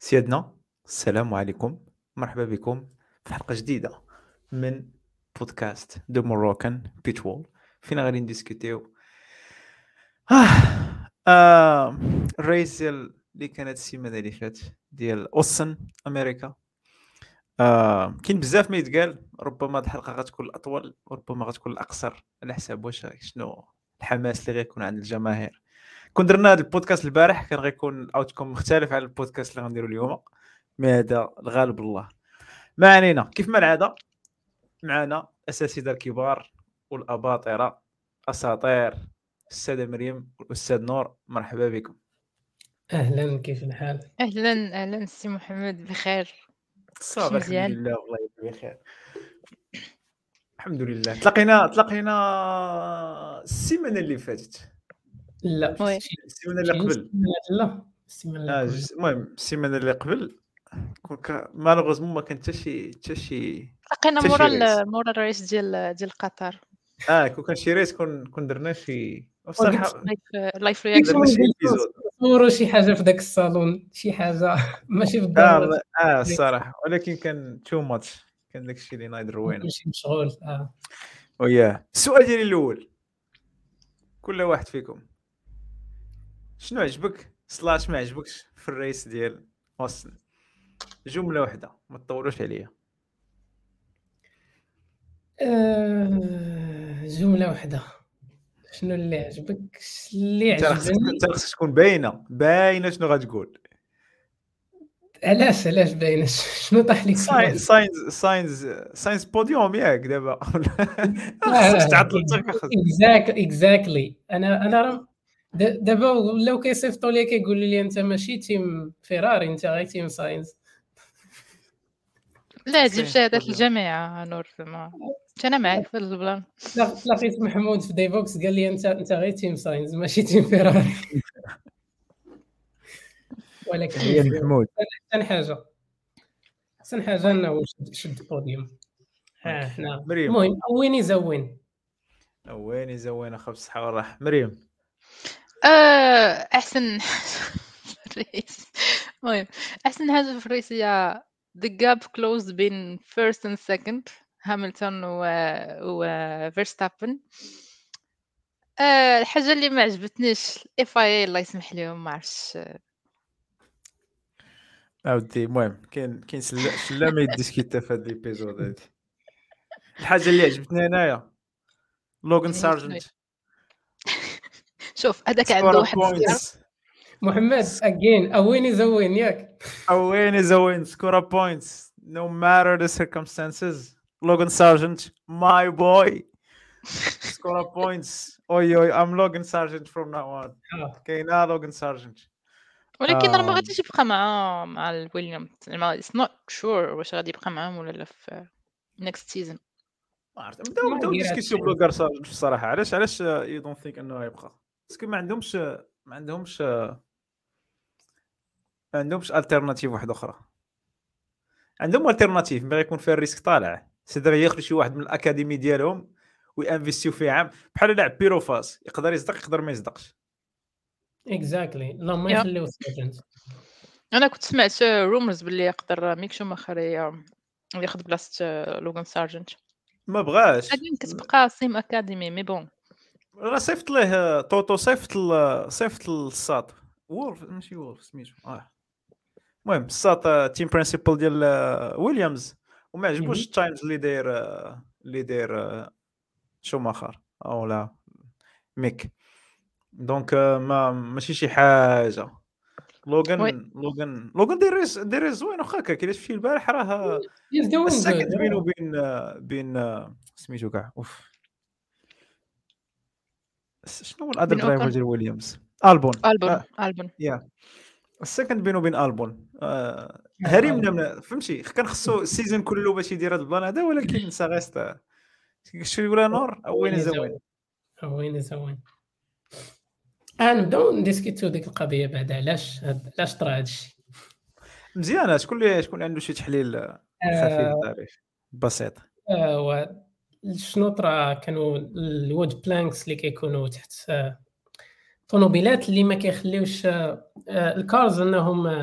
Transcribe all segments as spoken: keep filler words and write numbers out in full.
سيادنا، السلام عليكم. مرحبا بكم في حلقة جديدة من بودكاست دو موروكان بيتوول، فينا غادي نديسكوتيو آه. آه. الرئيس ديال اللي كانت السيمانة اللي فات ديال اوسن امريكا. آه. كاين بزاف ما يتقال، ربما هاد الحلقة غتكون الاطول وربما غتكون الاقصر على حساب واش شنو الحماس اللي غيكون عند الجماهير. كون درنا هذا البودكاست البارح كان غيكون الاوتكم مختلف على البودكاست اللي غنديرو اليوم، مي هذا الغالب الله. ما علينا، كيف ما العاده معنا اساتذه الكبار والاباطره اساطير، الساده مريم والاستاذ نور. مرحبا بكم. اهلا، كيف الحال؟ اهلا اهلا سي محمد، بخير؟ صافي الحمد مزيان. لله، والله بخير الحمد لله. تلاقينا تلاقينا السيمانه اللي فاتت، لا، وي شي السيمانه اللي شي قبل. سيمانة- لا السيمانه اللي اه قبل. جس- المهم السيمانه اللي قبل كون مالوغوزمون ما كان حتى شي حتى شي لقينا حتى مورا شي ريس. ال- مورا الرئيس ديال ديال قطر. اه كون كان شي ريس كون كون درنا شي قلت بصراحه لايف لايف لكم درنا رياكشن. شي ايبيزود. نصوروا شي حاجه في داك الصالون، شي حاجه ماشي اه بالضروره الله- اه الصراحه، ولكن كان تو ماتش، كان داكشي اللي نايد روينا. ماشي مشغول. اه وياه السؤال ديالي الاول، كل واحد فيكم شنو عجبك سلاش ما عجبكش في الرئيس ديال اوستن؟ جمله واحده ما تطولوش عليا. آه، جمله واحده. شنو اللي عجبك؟ اللي انت راه خصك عجبني. انت راه خصك تكون باينه باينه شنو غتقول. علاش علاش باين؟ شنو طاح لك في ساين- الراس؟ ساينز ساينز ساينز بوديوم ياك دابا. خصكش تعطل انت خصك. اكزاكتلي اكزاكتلي انا انا راه د- دابا ولاو كيصيفطوا لي كيقولوا لي انت ماشي تيم فيراري، انت غير تيم ساينز. لا تجيب ساينز شهادات بوديوم. الجامعه نور، زعما انا معاك في هذا البلان. لا- لقيت محمود في ديفوكس قال لي انت انت غير تيم ساينز ماشي تيم فيراري. ولكن تحيه مزيان. محمود. احسن حاجه احسن حاجه وي انه شد- شد بوديوم. ها اوكي حنا مريم. المهم وين يزوين. وين زوينه خبز الصحه والراحه مريم. آه، احسن في الرئيس. المهم احسن حاجه في الرئيس هي the gap closed بين first and second هامilton و و فيرستابن. آه، الحاجه اللي ما عجبتنيش الاف اي الله يسمح لهم، ما عرفتش. اودي المهم كاين كاين سلا شلا ما يديسكيتا في هاد ليبيزود هادي. الحاجه اللي عجبتني انايا لوغان هي شنو هي؟ سارجنت شوف هذاك عنده سكور واحد الزيار. بوينتس. محمد اجين وين يزوين ياك. وين زوين سكور بوينتس no matter the circumstances. Logan Sargent my boy score points. اوي اوي I'm Logan Sargent from now on. آه. كاينه لوغان سارجنت. ولكن راه ما آم، غاديش يبقى مع مع الويليام، زعما it's not sure واش غادي يبقى معاهم ولا لا في next season. ما عرفت نبداو ما نبداو داير ديسكسيون هادشي. بلوغار سارجنت الصراحه. علاش علاش يو دونت ثينك انه غيبقى؟ باسكو ما عندهمش ما عندهمش ما عندهمش التيرناتيف واحده اخرى. عندهم التيرناتيف مي غيكون فيها الريسك طالع، سيدي ياخذ شي واحد من الاكاديمي ديالهم وينفيستيو فيه عام بحال لاعب بيروفاس، يقدر يصدق يقدر ما يصدقش. اكزاكتلي لا ما يا يخليو سارجنت. انا كنت سمعت رومرز باللي يقدر ميك شوماخر ي- ياخذ بلاصه لوغان سارجنت. ما بغاش. بعدين كتبقى سيم اكاديمي مي بون. راه صيفط ليه طوطو، صيفط ل- صيفط للساط وولف ماشي وولف سميتو اه المهم الساط تيم برينسيبل ديال آه، ويليامز، وما عجبوش مهم. التايمز اللي داير آه، اللي داير آه، شوماخر او لا ميك. دونك آه، ما ماشي شي حاجه. وي لوغان لوغان لوغان داير ريس- داير زوين واخا هكا كي شفتي البارح راه He's doing good. السكند بينه وبين آه، بين آه، سميتو كاع اوف شنو هو الادر بين درايفر اوكون ديال ويليامز؟ البون. البون اه البون يا السكند بينه وبين البون. آه آه، هريمنا آه. من فهمتي، كان خصو السيزون كله باش يدير هذا البلان هذا، ولكن ساغيست شنو يقول نور او وين وين زوين. يزوين وين يزوين. آه نبداو نديسكيتو ديك القضيه بعد. علاش هاد- علاش طرا هادشي. مزيانه. شكون اللي شكون عنده شي تحليل آه، خفيف آه ظريف بسيط؟ آه و شنو طرا كانوا الوود بلانكس اللي كيكونوا تحت آه طوموبيلات اللي ما كيخليوش آه آه، الكارز انهم آه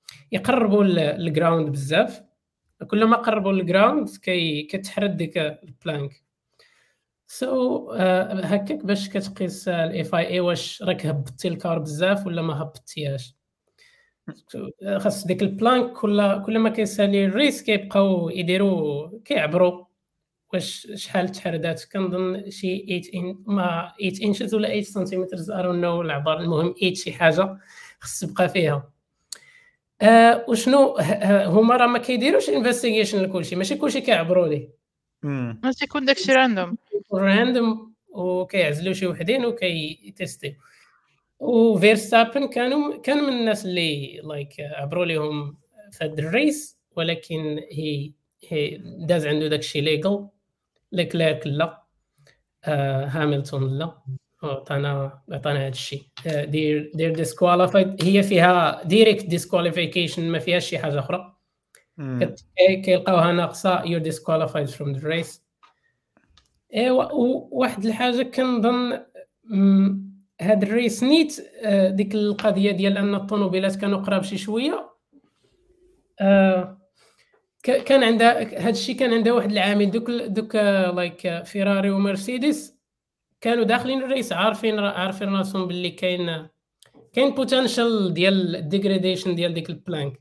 يقربوا الجراوند بزاف، كلما قربوا الجراوند كي كتحرد ديك البلانك. سو so, uh, هكاك باش كتقيس الاف اي اي واش راك هبطتي الكار بزاف ولا ما هبطتيهاش. so, خاص ديك البلانك كل كل ما كيسالي الريس كيبقاو يديروا كيعبروا واش شحال تحردات. كنظن شي ثمانية إن ما ثمانية انشز ولا ثمانية سنتيمتر ار نو العبار، المهم ثمانية شي حاجه خص تبقى فيها. آه وشنو هما راه ما كيديروش انفستيغيشن لكلشي، ماشي كلشي كيعبروا ليه، امم ماشي يكون داكشي راندوم راندوم وكيعزلوا شي وحدين وكيتيستيو. وفيرستابن كانوا كان من الناس اللي لايك عبروا لهم في هذا الريس، ولكن هي هي داز عنده داكشي ليغل. ليكليرك لا، آه هاملتون لا، عطانا عطانا هذا الشيء. دير دير ديسكواليفايد، هي فيها ديريكت ديسكواليفيكيشن ما فيهاش شي حاجه اخرى. كيلقاوها ناقصه يور ديسكواليفايد فروم ذا ريس. ايوا وواحد الحاجه كنظن هاد الريس نيت آه ديك القضيه ديال ان الطوموبيلات كانوا قراب شي شويه. آه كان عندها هاد الشيء، كان عندها واحد العامل دوك دوك لايك فيراري ومرسيدس كانوا داخلين الريس عارفين عارفين راسهم باللي كاين كاين بوتنشال ديال الديغريديشن ديال ديك البلانك.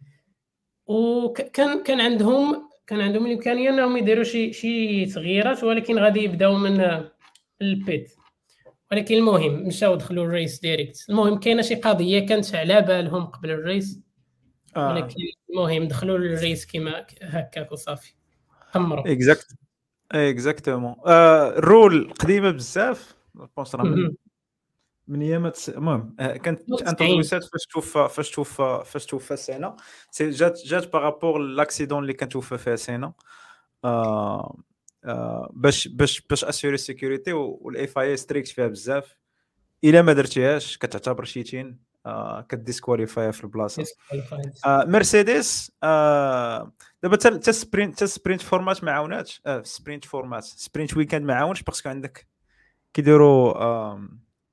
وكان كان عندهم كان عندهم الامكانيه انهم يديروا شي شي تغييرات، ولكن غادي يبداو من البيت. ولكن المهم مشاو دخلوا الريس ديريكت. المهم كاينه شي قضيه كانت على بالهم قبل الريس، ولكن المهم دخلوا للريس كيما هكاك وصافي قمروا. اكزاكت اكزاكتومون. الرول قديمه بزاف، بونس راه من من ايامات. المهم كانت انتروسات فاش توفى فاش توفى فاش توفى سنه سي جات جات بارابور لاكسيدون اللي كان توفى فيها سنه. آه آه باش باش باش اسيوري سيكوريتي، والاف اي ستريكت فيها بزاف. الا ما درتيهاش كتعتبر شيتين، آه كديسكواليفاي في البلاصه. آه مرسيدس آه دابا حتى سبرينت حتى سبرينت فورمات ما عاوناتش. آه سبرينت فورمات سبرينت ويكاند ما عاونش، باسكو عندك كيديروا آه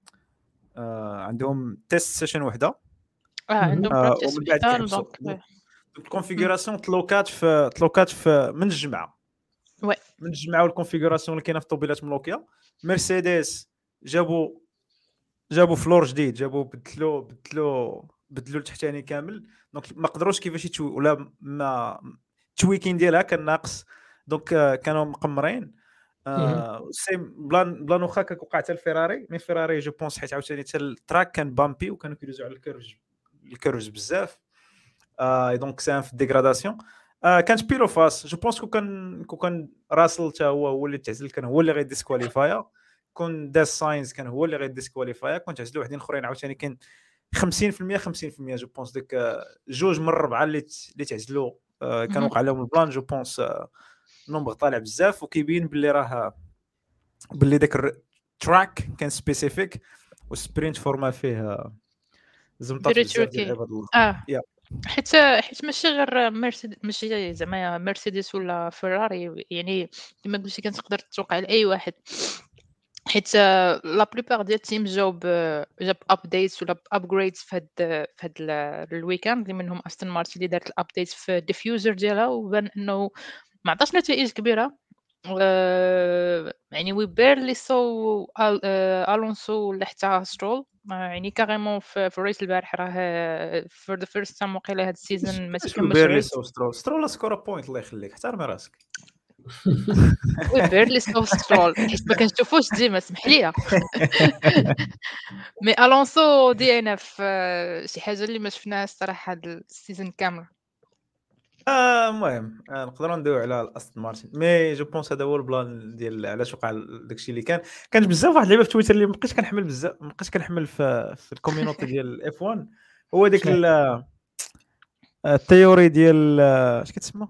آه عندهم تيست سيشن وحده، اه عندهم آه براكتيس ومن بعد وحده كيحبسوا. دونك الكونفيغوراسيون تلوكات في تلوكات في من الجمعه وي من الجمعه والكونفيغوراسيون اللي كاينه في الطوبيلات ملوكيه. مرسيدس جابوا جابوا فلور جديد، جابوا بدلوا بدلوا بدلوا التحتاني كامل، دونك ما قدروش كيفاش يتو ولا ما التويكين ديالها كان ناقص، دونك آه كانوا مقمرين. آه سيم بلان بلان واخا كوقع حتى الفيراري، مي فيراري جو بونس حيت عاوتاني حتى التراك كان بامبي وكانوا كيدوزوا على الكيرج الكيرج بزاف. آه دونك سان في الديغراداسيون. آه كانت بيلو فاس جو بونس كو كان كو كان راسل حتى هو هو اللي تعزل، كان هو اللي غيديسكواليفايا. كون داز ساينز كان هو اللي غيديسكواليفايا. كنت تعزلوا وحدين اخرين عاوتاني كان خمسين في المية خمسين في المية جو بونس. ديك جوج من الربعه اللي اللي تعزلوا آه كان وقع لهم البلان. جو بونس آه نومبر طالع بزاف، وكيبين باللي راه باللي داك التراك كان سبيسيفيك والسبرينت فورما فيه زمطات بزاف ديال عباد الله. اه yeah. حيت حيت ماشي غير مرسيدس، ماشي زعما مرسيدس ولا فيراري، يعني كما قلتي كتقدر توقع لاي واحد، حيت لا بلوبار ديال التيم جاوب جاب ابديتس ولا ابجريدز في هاد في هاد الويكاند، اللي منهم استون مارتن اللي دارت الابديت في الديفيوزر ديالها، وبان انه ما عطاش نتائج كبيره. Uh, يعني we barely saw uh, Alonso ولا حتى سترول. uh, يعني كاريمون في, في الريس البارح راه for the first time وقيله هاد السيزون ما تكملش الريس. سترول سترول سكور بوينت الله يخليك، احترمي راسك. we barely saw سترول حيت ما كنشوفوش ديما، سمح لي. مي الونسو دي انا في شي حاجه اللي ما شفناهاش الصراحه هاد السيزون كامل. المهم آه نقدروا ندويو على الاستون مارتن، مي جو بونس هذا هو البلان ديال علاش وقع داكشي اللي كان. كانت بزاف واحد اللعبه في تويتر اللي مابقيتش كنحمل بزاف، مابقيتش كنحمل في, في الكوميونيتي ديال اف واحد، هو ديك التيوري ديال اش كتسمى،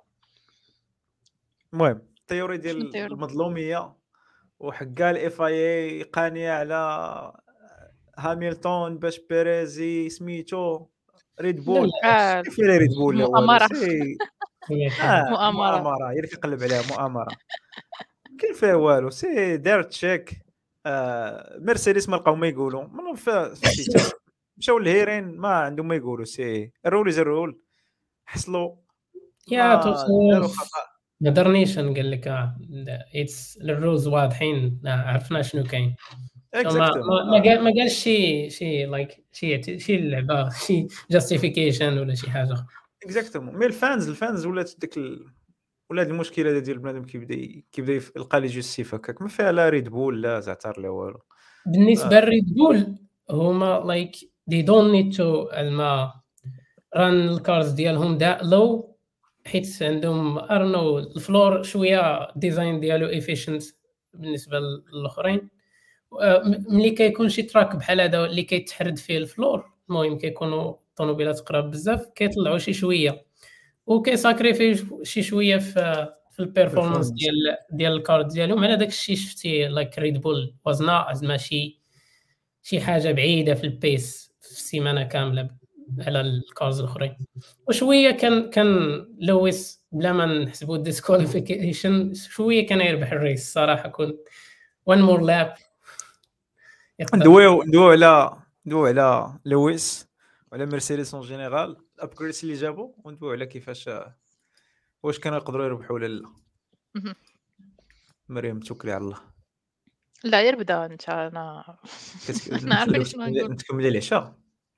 المهم التيوري ديال المظلوميه وحكا الاف اي اي قانيه على هاميلتون باش بيريزي سميتو ريد بول. كيف هي ريد بول مؤامره آه مؤامره هي اللي كيقلب عليها مؤامره، كاين فيها والو. سي دار تشيك آه مرسيدس ما لقاو ما يقولوا منهم في الشتاء مشاو للهيرين ما عندهم ما يقولوا سي الرول از الرول حصلوا يا ما توصل داروا خطا ما درنيش نقول لك اه اتس الروز واضحين آه، عرفنا شنو كاين ما ما اكزاكتومون ما قال ما قالش شي شي لايك شي شي اللعبه شي جاستيفيكيشن ولا شي حاجه اخرى اكزاكتومون مي الفانز الفانز ولات ديك ال... ولا هاد المشكله ديال بنادم كيبدا ي- كيبدا يف- يلقى لي جوستيف هكاك ما فيها لا ريد بول لا زعتر لا والو بالنسبه آه. للريد بول هما لايك they don't need to الما ران الكارز ديالهم دا لو حيت عندهم ارنو الفلور شويه ديزاين ديالو افيشنت بالنسبه للاخرين آه، م- ملي كيكون شي تراك بحال هذا اللي كيتحرد فيه الفلور المهم كيكونوا الطوموبيلات قراب بزاف كيطلعوا شي شويه وكيساكريفي شي شويه في في البيرفورمانس Performance. ديال ديال الكارد ديالهم على داك الشيء شفتي لايك ريد بول وزنا زعما شي شي حاجه بعيده في البيس في السيمانه كامله على الكارز الاخرين وشويه كان كان لويس بلا ما نحسبوا ديسكواليفيكيشن شويه كان يربح الريس صراحه كنت وان مور لاب ندويو ندويو على ندويو على لويس وعلى مرسيدس اون جينيرال الابجريدز اللي جابوا وندويو على كيفاش واش كانوا يقدروا يربحوا ولا لا. مهم. مريم توكلي على الله لا يربدا انت انا كت- انا عارفه شنو نتكملي نقول نتكملي العشاء.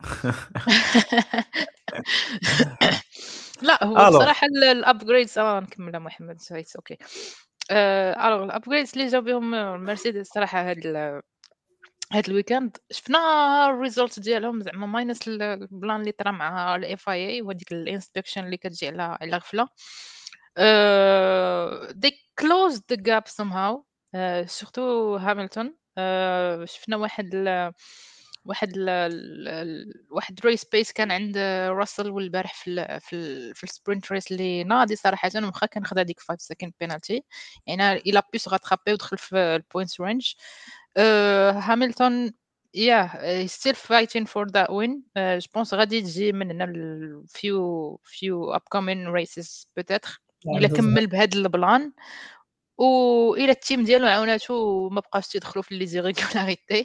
لا هو الو بصراحه الابجريدز اه نكملها محمد سويت اوكي الوغ الابجريدز اللي جاو بهم مرسيدس صراحه هاد ال- هاد الويكاند شفنا الريزولت ديالهم زعما ماينس البلان اللي طرا مع الاف اي اي وهذيك الانسبكشن اللي كتجي على على غفله uh, they closed the gap somehow uh, سورتو هاملتون uh, شفنا واحد ال واحد ال ال واحد ريس بيس كان عند راسل والبارح في ال في ال في السبرنت ريس اللي ناضي صراحه واخا كان خدا ديك خمسة سكند بينالتي يعني الى بيس غاترابي ودخل في البوينتس رينج هاملتون yeah uh, he's still fighting for that win uh, je pense غادي تجي من هنا ال few few upcoming races peut-être الا كمل بهذا البلان والى التيم ديالو عاوناتو ما بقاوش تيدخلوا في لي زيريغولاريتي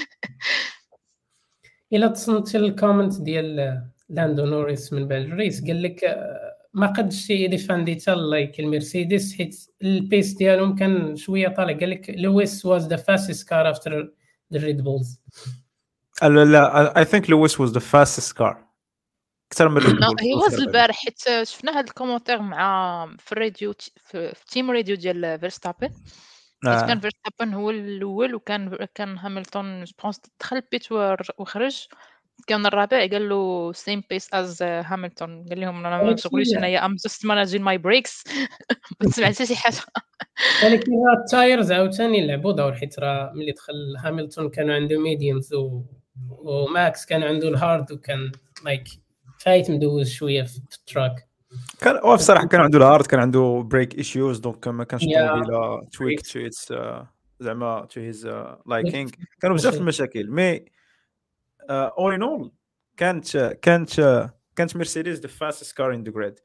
الا تصنتي الكومنت ديال لاندو نوريس من بعد الريس قال لك آه، ما قدش يديفاندي حتى لايك المرسيدس حيت البيس ديالهم كان شويه طالع قال لك لويس واز ذا فاستست كار افتر ذا ريد بولز لا لا اي ثينك لويس واز ذا فاستست كار اكثر من ريد نو بول هي واز البارح حيت شفنا هذا الكومونتير مع في الراديو في التيم راديو ديال فيرستابن حيت كان فيرستابن هو الاول وكان كان هاملتون جو بونس دخل بيت وخرج كان الرابع قال له سيم بيس از هاملتون قال لهم انا ما نشغليش انايا ام جاست ماناجين ماي بريكس ما سمعت حتى شي حاجه ولكن راه التايرز عاوتاني لعبوا دور حيت راه ملي دخل هاملتون كانوا عنده ميديومز و... وماكس كان عنده الهارد وكان لايك فايت مدوز شويه في التراك كان هو بصراحه كان عنده الهارد كان عنده بريك ايشوز دونك ما كانش Yeah. الطوموبيله تويك تو اتس زعما تو هيز لايكينغ كانوا بزاف المشاكل مي اول ان اول كانت كانت كانت مرسيدس ذا فاستست كار ان ذا جريد.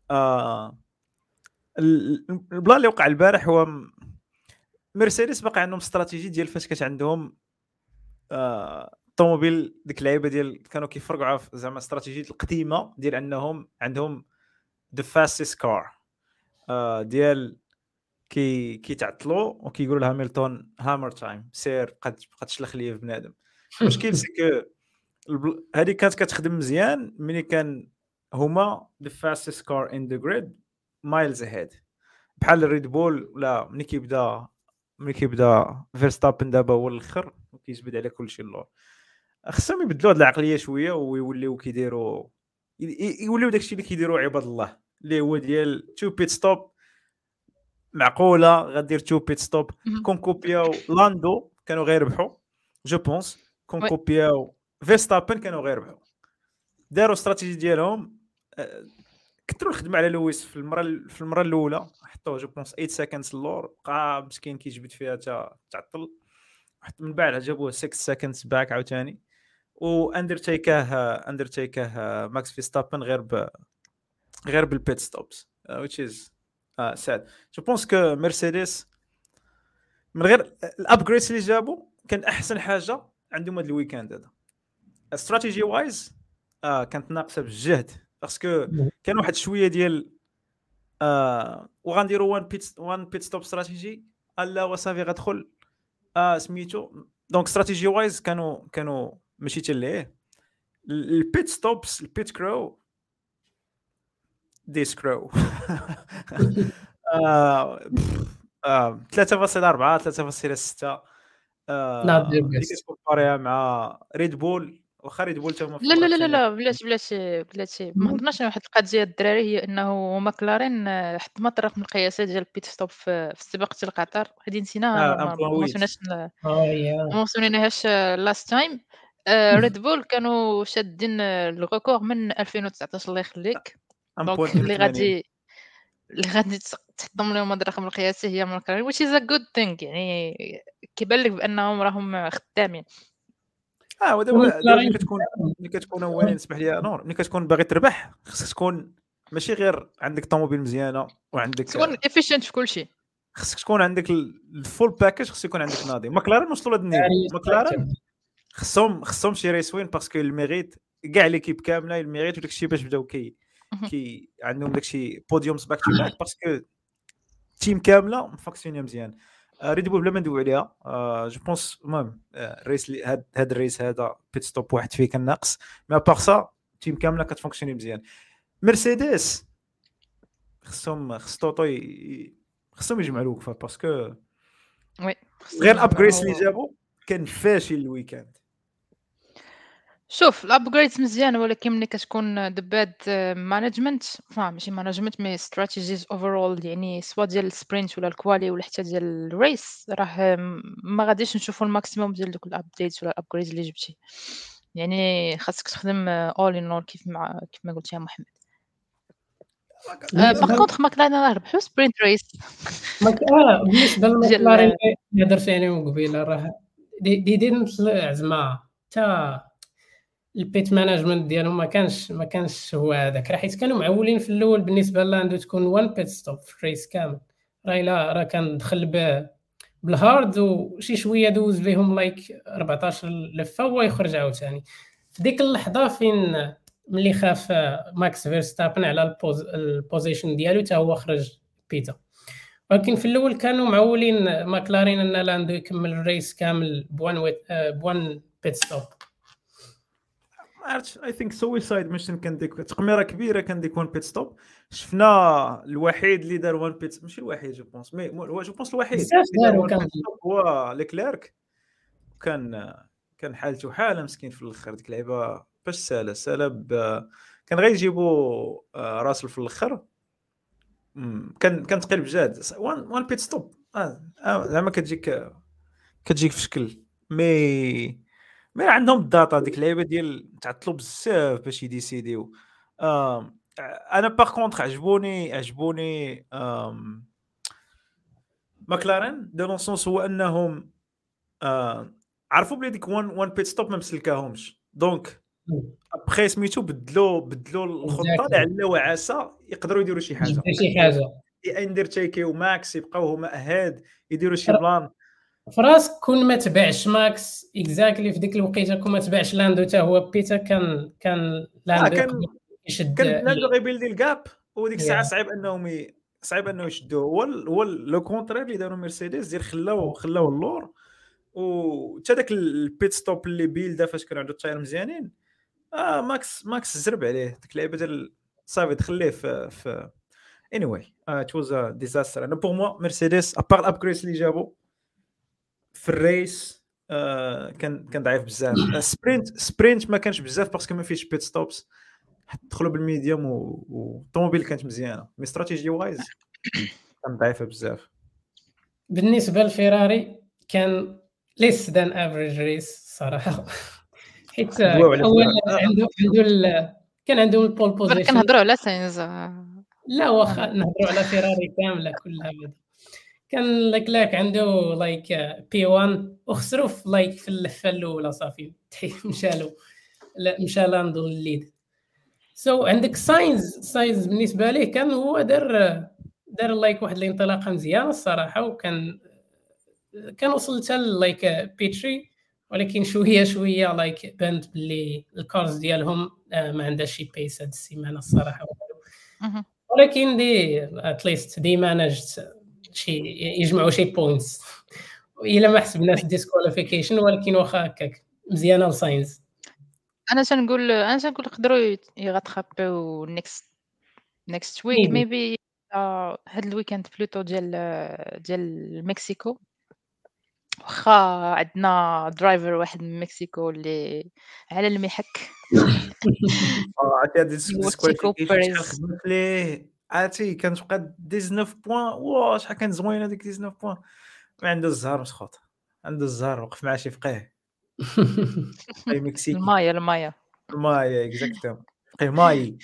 البلان اللي وقع البارح هو م- مرسيدس باقي عندهم استراتيجي ديال فاش كانت عندهم آه، الطوموبيل ديك اللعيبه ديال كانوا كيفرقوا على زعما استراتيجيه القديمه ديال انهم عندهم ذا فاستست كار ديال كي كيتعطلوا وكيقولوا لهاملتون هامر تايم سير قد بقى تشلخ ليا في بنادم. المشكل سي كو البل- هذه كانت كتخدم مزيان ملي كان هما ذا فاستست كار ان ذا جريد مايلز اهيد بحال الريد بول ولا ملي كيبدا ملي كيبدا فيرستابن دابا هو الاخر وكيجبد على كل شيء اللور. خصهم يبدلوا هذه العقليه شويه ويوليو كيديروا ي- ي- يوليو داكشي اللي كيديروا عباد الله اللي هو ديال تو بيت ستوب معقوله غدير تو بيت ستوب كون كوبياو لاندو كانوا غيربحوا جو بونس كون وي. كوبياو فيرستابن كانوا غيربحوا داروا استراتيجي ديالهم آه، كثروا الخدمه على لويس في المره في المره الاولى حطوه جو بونس ثمانية سكندز اللور بقى مسكين كيجبد فيها تا تعطل حتى من بعد جابوه ستة سكندز باك عاوتاني واندرتيكاه اندرتيكاه ماكس فيستابن غير ب غير بالبيت ستوبس which is uh, sad. جو بونس كو مرسيدس من غير الابجريدز اللي جابوا كان احسن حاجه عندهم هذا الويكاند هذا استراتيجي وايز آه كانت ناقصه بالجهد باسكو كان واحد شويه ديال آه وغنديروا وان بيت وان بيت ستوب استراتيجي الا وصافي غتدخل اه سميتو دونك استراتيجي وايز كانوا كانوا ماشي حتى ليه البيت ستوبس البيت كرو دي سكرو آه آه ثلاثة فاصلة أربعة ثلاثة فاصلة ستة Not the اللي best. كتكومباريها مع ريد بول واخا ريد بول تما في لا لا الكره لا لا الثانيه لا بلاتي بلاتي بلاتي ما هضرناش على واحد القضيه الدراري، هي انه ماكلارين آه، حط ما طرق من القياسات ديال البيت ستوب في في السباق ديال قطر، هذه نسيناها ما اه ما ما وصلناش ل- اه يا ما وصلناش لاست تايم. ريد بول كانوا شادين آه، الريكور من ألفين وتسعطاش الله يخليك، دونك اللي واحد فاصلة ثمانين غادي اللي غادي تس- تحطم لهم هاد الرقم القياسي هي ماكلارين which is a good thing، يعني كيبان لك بانهم راهم خدامين. اه ودابا دابا ملي ومكلارين كتكون ملي كتكون اولا نسمح لي نور ملي كتكون باغي تربح خصك تكون ماشي غير عندك طوموبيل مزيانه وعندك تكون efficient في كل شيء. خصك تكون عندك الفول باكاج خص يكون عندك ناضي ماكلارين وصلوا لهذا النيفو ماكلارين خصهم خصهم شي ريسوين باسكو الميريت كاع ليكيب كامله الميريت وداك الشيء باش بداو كي كي عندهم داك الشيء بوديومز باك تو باك باسكو تيم كامله مفاكسيونيه مزيان ريد بول بلا ما ندوي عليها جو بونس المهم الريس هاد هاد الريس هذا بيت ستوب واحد فيه كان ناقص مي باغ سا تيم كامله كتفونكسيوني مزيان مرسيدس خصهم خص طوطو خصهم يجمعوا الوقفه باسكو وي غير الابغريس اللي جابوا كان فاشل الويكاند. شوف الابجريدز مزيانه، ولكن ملي كتكون دباد مانجمنت ماشي مانجمنت مي استراتيجيز اوفرول، يعني سوا ديال السبرينت ولا الكوالي ولا حتى ديال الريس، راه ما غاديش نشوفوا الماكسيموم ديال دوك الابديتس ولا الابجريدز اللي جبتي. يعني خاصك تخدم اول ان اول كيف مع كيف ما قلت يا محمد. باغ كونطخ ماكلارين راه ربحوا سبرينت ريس. اه بالنسبه ديال- للمكلارين اللي هضرت عليهم قبيله راه دي دي ديدنت زعما حتى البيت مانجمنت ديالهم ما كانش ما كانش هو هذاك، راه حيت كانوا معولين في الاول بالنسبه لاندو تكون وان بيت ستوب في الريس كامل، راه لا راه كان دخل به بالهارد وشي شويه دوز بهم لايك أربعطاش لفه ويخرج عاوتاني. في ديك اللحظه فين ملي خاف ماكس فيرستابن على البوز البوزيشن ديالو حتى هو خرج بيتا، ولكن في الاول كانوا معولين ماكلارين ان لاندو يكمل الريس كامل بوان ويت بوان بيت ستوب. ما عرفتش اي ثينك سويسايد ميشن كان ديك تقميره كبيره كان ديك وان بيت ستوب شفنا الوحيد اللي دار وان بيت ماشي الوحيد جو بونس مي هو جو بونس الوحيد بزاف اللي دار داروا وان كان بيت ستوب هو ليكليرك. كان كان حالته حاله مسكين في الاخر ديك اللعبه باش سالا سالا ب- كان غيجيبوا آه، راسل في الاخر. مم، كان كان تقيل بجد وان وان بيت ستوب آه، آه، زعما كتجيك كتجيك في شكل مي مي عندهم الداتا ديك اللعيبه ديال تعطلوا بزاف باش يديسيديو. آم، انا باغ كونطخ عجبوني عجبوني آم، ماكلارين دو لون سونس هو انهم آم، عرفوا بلي ديك وان وان بيت ستوب ما مسلكاهمش دونك ابخي سميتو بدلوا بدلوا الخطه لعل وعسى يقدروا يديروا شي حاجه شي حاجه اندرتيكي وماكس يبقاو هما اهاد يديروا شي بلان فراسك كون ما تبعش ماكس اكزاكتلي في ديك الوقيته كون ما تبعش لاندو حتى هو بيتا كان كان لاندو كان يقدر يشد كان لاندو غيبيلدي الكاب وديك الساعه Yeah. صعيب انهم ي... صعيب انه يشدوه هو ال- هو لو كونترير اللي داروا مرسيدس ديال خلاو خلاو اللور وحتى داك البيت ستوب اللي بيلدا فاش كان عنده التاير مزيانين اه ماكس ماكس زرب عليه ديك اللعيبه ديال صافي دخليه في في اني واي ات واز ا ديزاستر. انا بور موا مرسيدس ابار الابجريس اللي جابوا في الريس آه كان كان ضعيف بزاف. سبرينت سبرينت ما كانش بزاف باسكو ما فيش بيت ستوبس دخلوا بالميديوم والطوموبيل كانت مزيانه مي استراتيجي وايز كان ضعيفه بزاف. بالنسبه للفيراري كان ليس دان افريج ريس صراحه حيت دواو على اولا فيراري. عنده عنده ال- كان عندهم البول بوزيشن. كنهضروا على ساينز. لا واخا نهضروا على فيراري كامله كلها بعدا. كان لاك عنده لايك بي واحد وخسروا في لايك في اللفه الاولى صافي مشالو لا مشى لاندو الليد. سو so, عندك ساينز ساينز بالنسبه ليه كان هو دار دار لايك واحد الانطلاقه مزيانه الصراحه، وكان كان وصل حتى لايك بيتري ولكن شويه شويه لايك بانت باللي الكارز ديالهم آه، ما عندهاش شي بيس هاد السيمانه الصراحه. مهم. ولكن دي اتليست دي مانجت شي يجمعوا شي بوينتس الا ما حسبناش ديسكواليفيكيشن، ولكن واخا هكاك مزيانه لساينز. انا تنقول انا تنقول يقدروا يغاتخابيو نيكست نيكست ويك Maybe. ميبي هاد الويكاند بلوتو ديال ديال مكسيكو، واخا عندنا درايفر واحد من مكسيكو اللي على المحك اه عرفتي هاد هو تشيكو الديسكواليفيكيشن شحال بيريز. خدمت ليه، عرفتي كتبقى تسعطاش بوان. واه شحال كانت زوينه ديك تسعطاش بوان. ما عنده الزهر مسخوط، عنده الزهر وقف مع شي فقيه فقيه مكسيكي المايا المايا ماي اكزاكتوم فقيه ماي.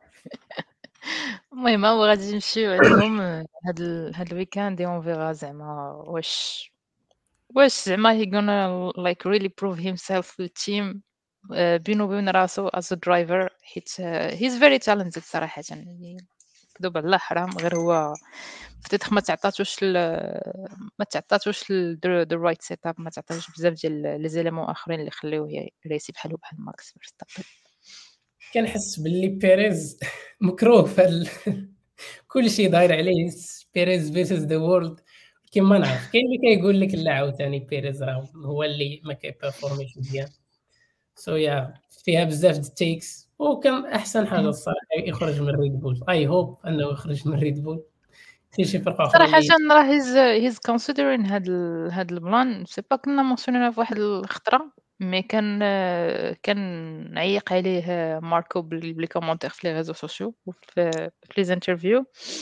المهم هو غادي نمشيو عندهم هاد ال... هاد الويكاند اون فيغا زعما واش واش زعما he gonna like really prove himself في التيم بينو وبين راسو as a driver حيت uh, he's very talented صراحة. يعني كذوب على الله حرام، غير هو فتيتخ ما تعطاتوش ال... ما تعطاتوش ال... the, the right setup، ما تعطاتوش بزاف ديال لي زيليمون اخرين اللي خليوه يريسي بحالو بحال ماكس فيرستابن. كنحس باللي بيريز مكروه في ال... كل شيء داير عليه بيريز فيرسز ذا وورلد. كيما نعرف كاين اللي كيقول لك لا عاوتاني بيريز راه هو اللي ما كيبيرفورميش مزيان. سو يا فيها بزاف د التيكس، وكان احسن حاجه الصراحه يخرج من ريد بول. اي هوب انه يخرج من ريد بول. في شي فرقه اخرى صراحة اللي راه هيز هيز كونسيدرين هاد ال... هاد البلان. سي با كنا مونسيونينا في واحد الخطرة، مي كان كان عيق عليه ماركو بلي بلي كومونتير في لي ريزو سوسيو وفي في لي انترفيو،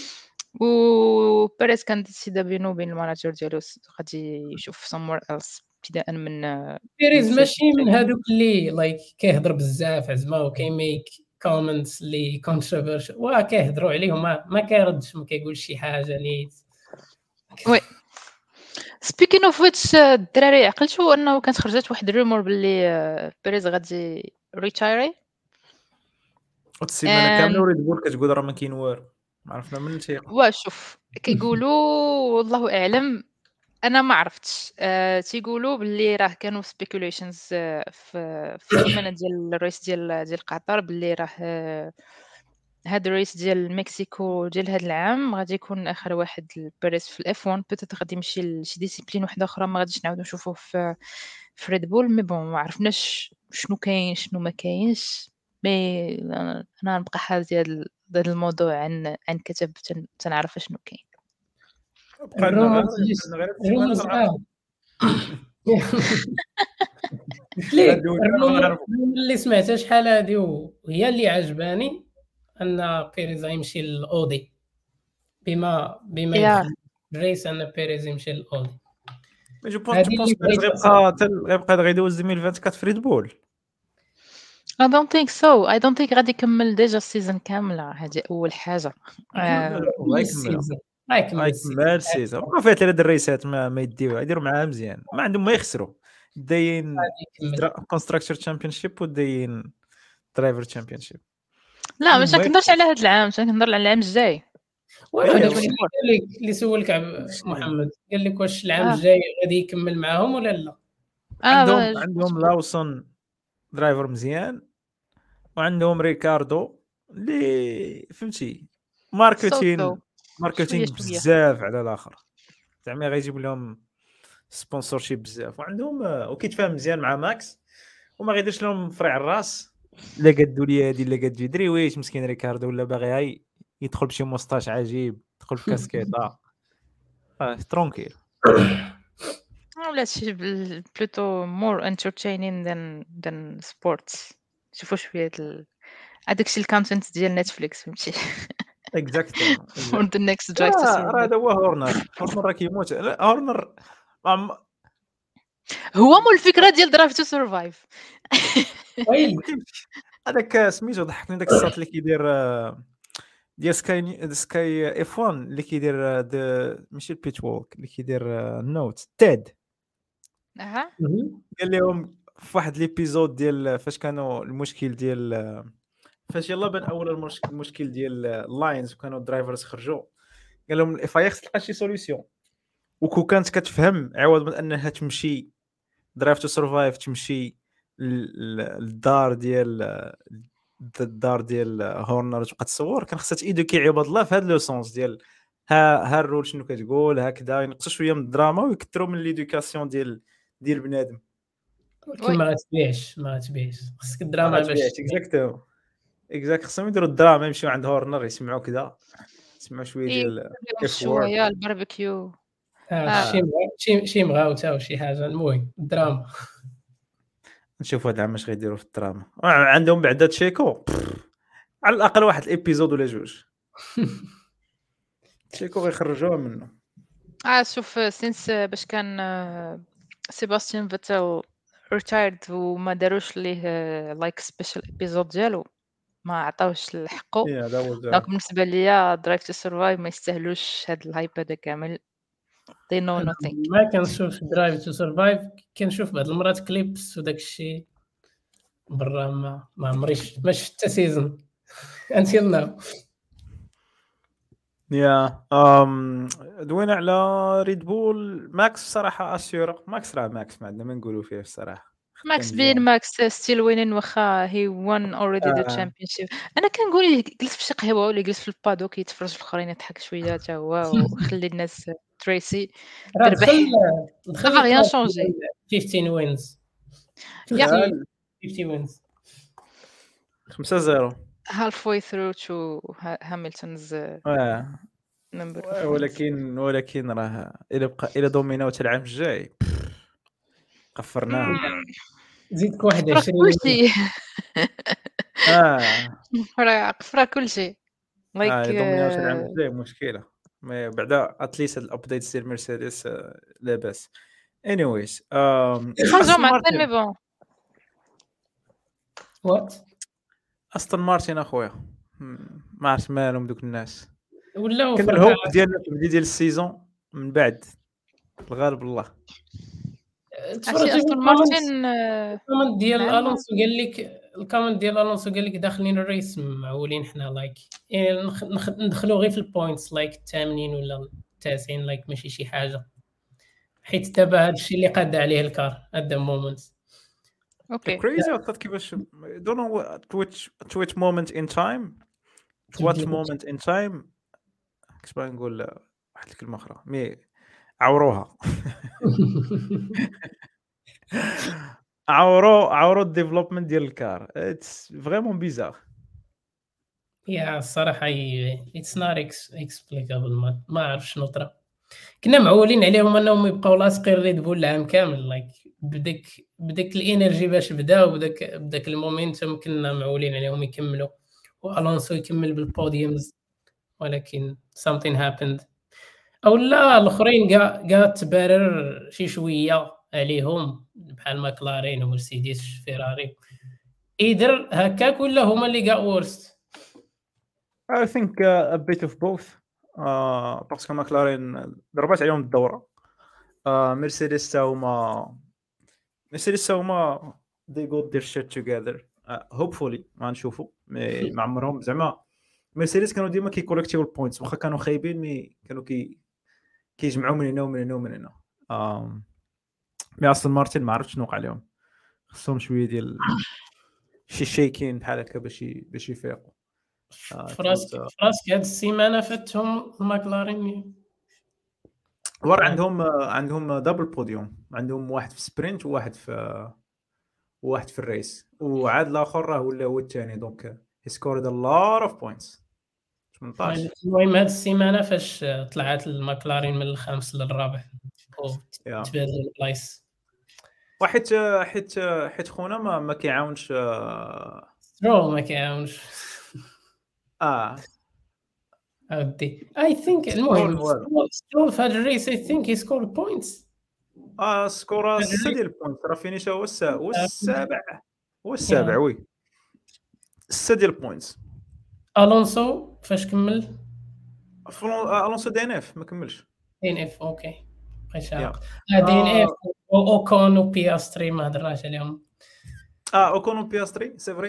و بيريز كان ديسيدا بينو وبين الماناجر ديالو غادي يشوف somewhere else ابتداء من بيريز من ماشي من هادوك اللي لايك كيهضر بزاف زعما وكيميك كومنتس اللي كونتروفيرشل واه كيهضروا عليهم ما, ما كيردش ما كيقولش شي حاجه نيت. وي سبيكين اوف ويتش الدراري، عقلتوا انه كانت خرجت واحد الرومور باللي بيريز غادي ريتايري السيمانه كامله And- وريد بول كتقول راه ما كاين والو، ما عرفنا من تيق. وشوف كيقولوا والله اعلم، انا ما عرفتش. أه تيقولوا باللي راه كانوا سبيكوليشنز في في السيمانه ديال الرئيس ديال ديال قطر باللي راه آه، هاد الرئيس ديال مكسيكو ديال هاد العام غادي يكون اخر واحد البيريز في الاف واحد، بيتيت غادي يمشي لشي ديسيبلين واحده اخرى ما غاديش نعاودو نشوفوه في في ريد بول. مي بون ما عرفناش شنو كاين شنو ما كاينش. مي انا أنا نبقى حافظه هاد هاد الموضوع عن عن كتب تن- تنعرف شنو كاين. بقى لنا غير الرومرز بقى لنا غير السيمانه الرومرز غنعرفوا. قلت لك هادو اللي الرومر غنعرفوا. اللي سمعتها شحال هادي وهي اللي عجباني ان بيريز يمشي للاودي، بما بما يا يدخل الريس ان بيريز يمشي للاودي. مي جو بونس هادي جو بونس اللي بغيت غيبقى تل- غيبقى غيدوز ألفين وأربعة وعشرين في ريد بول. I don't think so. I don't think غادي يكمل ديجا السيزون كامله، هذه اول حاجه. آه، الله يكملها. ما يكمل هاي السيزون. كمال السيزون بقى فيها ثلاث الريسات ما ما يديوها يديروا معاها مزيان، ما عندهم ما يخسروا. داين يكمل. كونستراكتور تشامبيونشيب وداين درايفر تشامبيونشيب. لا مش كنهضرش على هذا العام، كنهضر على العام الجاي. وانا إيه، داكشي اللي قال لك اللي سولك عب- محمد قال لك واش العام آه. الجاي غادي يكمل معاهم ولا لا. اه عندهم باش- عندهم لاوسون درايفر مزيان، وعندهم ريكاردو اللي فهمتي ماركتين صوتو. ماركتينغ شوية شوية. بزاف على الاخر، زعما غيجيب لهم سبونسورشيب بزاف. وعندهم آه، وكيتفاهم مزيان مع ماكس وما غيديرش لهم فرع الراس. لا قادوا لي هادي لا قاد جدري ويش مسكين ريكاردو ولا باغي هاي يدخل بشي موسطاش عجيب، يدخل بكاسكيطه اه ترونكيل. ولا شي بل- بلوتو more entertaining than than sports. شوفوا شويه ال... هذاك الشيء الكونتنت ديال نتفليكس فهمتي. اكزاكتوم for the next drive to راه survive. هذا هو هورنر. هورنر راه كيموت. لا هورنر عم- هو مو الفكره ديال درايف تو سرفايف. ويلي هذاك سميتو ضحكني داك الساط اللي كيدير آه، ديال سكاي ني- سكاي اف واحد اللي كيدير آه، د- ماشي البيتش وولك اللي كيدير آه، النوت تيد. اها قال لهم في واحد ليبيزود ديال فاش كانوا المشكل ديال آه، فاش يلا بان اول المش- المشكل ديال اللاينز وكانوا الدرايفرز خرجوا، قال لهم الاف اي اكس تلقى شي سوليوشن وكو كانت كتفهم عوض من انها تمشي درايف تو سرفايف تمشي للدار ديال الدار ديال هورنر تبقى تصور، كان خصها تيدوكي عباد الله في هذا لو سونس ديال ها ها الرول شنو كتقول هكذا، ينقصوا شويه من الدراما ويكثروا من ليدوكاسيون ديال ديال بنادم. ولكن ما غتبيعش ما غتبيعش خصك الدراما باش اكزاكتو اكزاكت خصهم يديروا الدراما، يمشيو عند هورنر يسمعوا كذا، يسمعوا شويه ديال شويه الباربيكيو اه شي شي شي مغاوته وشي حاجه. المهم الدراما نشوفوا هاد العام اش غيديروا في الدراما. عندهم بعدا تشيكو على الاقل واحد الابيزود ولا جوج تشيكو غيخرجوها منه. اه شوف سينس باش كان سيباستيان فيتل ريتايرد وما داروش ليه لايك سبيشال ابيزود ديالو، ما عطاوش الحقه. دونك بالنسبه ليا درايف تو سرفايف ما يستاهلوش هاد الهايب هذا كامل. they know nothing. ما كنشوف درايف تو سرفايف، كنشوف بعض المرات كليبس وداك الشيء برا، ما ما عمريش ما شفت حتى سيزون انتيل ناو. يا ام دوينا على ريد بول ماكس صراحه اسيورا. ماكس راه ماكس ما عندنا ما نقولوا فيه الصراحه. ماكس بين ماكس ستيل وينين واخا هي وان اوريدي ذا تشامبيونشيب. انا كنقول جلس في شي قهوه ولا جلس في البادوك يتفرج في الاخرين يضحك شويه حتى هو وخلي الناس تريسي تربح. دخل غيان شونجي خمسطاش وينز خمسين وينز خمسة صفر half way through to Hamilton's اه number. ولكن ولكن راه الا بقى الا دوميناو حتى العام الجاي قفرناه. زيدك واحد وعشرين كلشي اه راه قفره كلشي لايك اه دوميناو حتى العام الجاي مشكله. ما بعدا اتليست الابديت ديال مرسيدس لاباس. anyways ام خرجوا مع مي بون وات استون مارتن اخويا ما عرفت مالهم دوك الناس. ولاو كان الهوب ديالنا في البدايه ديال السيزون من بعد الغالب الله. تفرجت استون مارتن الكومنت ديال الونسو قال لك الكومنت ديال الونسو قال لك داخلين الريس معولين حنا لايك يعني ندخلوا غير في البوينتس لايك الثامنين ولا التاسعين لايك ماشي شي حاجه، حيت دابا هذا الشيء اللي قاد عليه الكار at the moment. اوكي crazy عطات كيفاش don't know at which at which moment in time at what moment in time كيف نقول واحد الكلمه اخرى مي عوروها عورو عورو الديفلوبمنت ديال الكار. اتس فريمون بيزار. يا الصراحه اتس نوت اكسبليكابل. ما ما عرف شنو طرا. كنا معولين عليهم انهم يبقاو لاصقين ريد بول العام كامل لايك بداك بداك الانرجي باش بداو بداك بداك المومنتوم كنا معولين عليهم يكملوا والونسو يكمل بالبوديومز، ولكن something happened او لا الاخرين كاع كاع تبرر شي شويه عليهم بحال ماكلارين ومرسيدس فيراري ايدر هكاك ولا هما اللي كاع ورست. I think uh, a bit of both. uh, باسكو ماكلارين ضربات عليهم الدوره. uh, مرسيدس تا هما مرسيدس تا هما they got their shit together. uh, hopefully ما نشوفوا ما عمرهم زعما مرسيدس كانوا ديما كيكولكتيو البوينتس واخا كانوا خايبين مي كانوا كي كيجمعوا من هنا ومن هنا ومن هنا. um, مي اصلا مارتن ما عرفتش شنو وقع لهم، خصهم شويه ديال شي شيكين بحال هكا باش باش يفيقوا. فراسك فراسك هاد السيمانه فاتهم الماكلارين ور عندهم عندهم دبل بوديوم، عندهم واحد في سبرينت وواحد في وواحد في الريس وعاد الاخر راه ولا هو الثاني. دونك هي سكورد ا لوت اوف بوينتس ثمنطاش. المهم هاد السيمانه فاش طلعت الماكلارين من الخامس للرابع وتبادلوا البلايص وحيت حيت حيت خونا ما ما كيعاونش سترول ما كيعاونش اه اودي اي ثينك. المهم سترول في هاد الريس اي ثينك هي سكور بوينتس اه سكور ستة ديال البوينت راه فينيش هو السابع هو السابع وي ستة ديال البوينتس. الونسو فاش كمل الونسو دي ان اف ما كملش دي ان اف اوكي بقيت عارف دي ان اف اوكون وبياستري ما هضرناش عليهم. اه اوكون وبياستري سي فري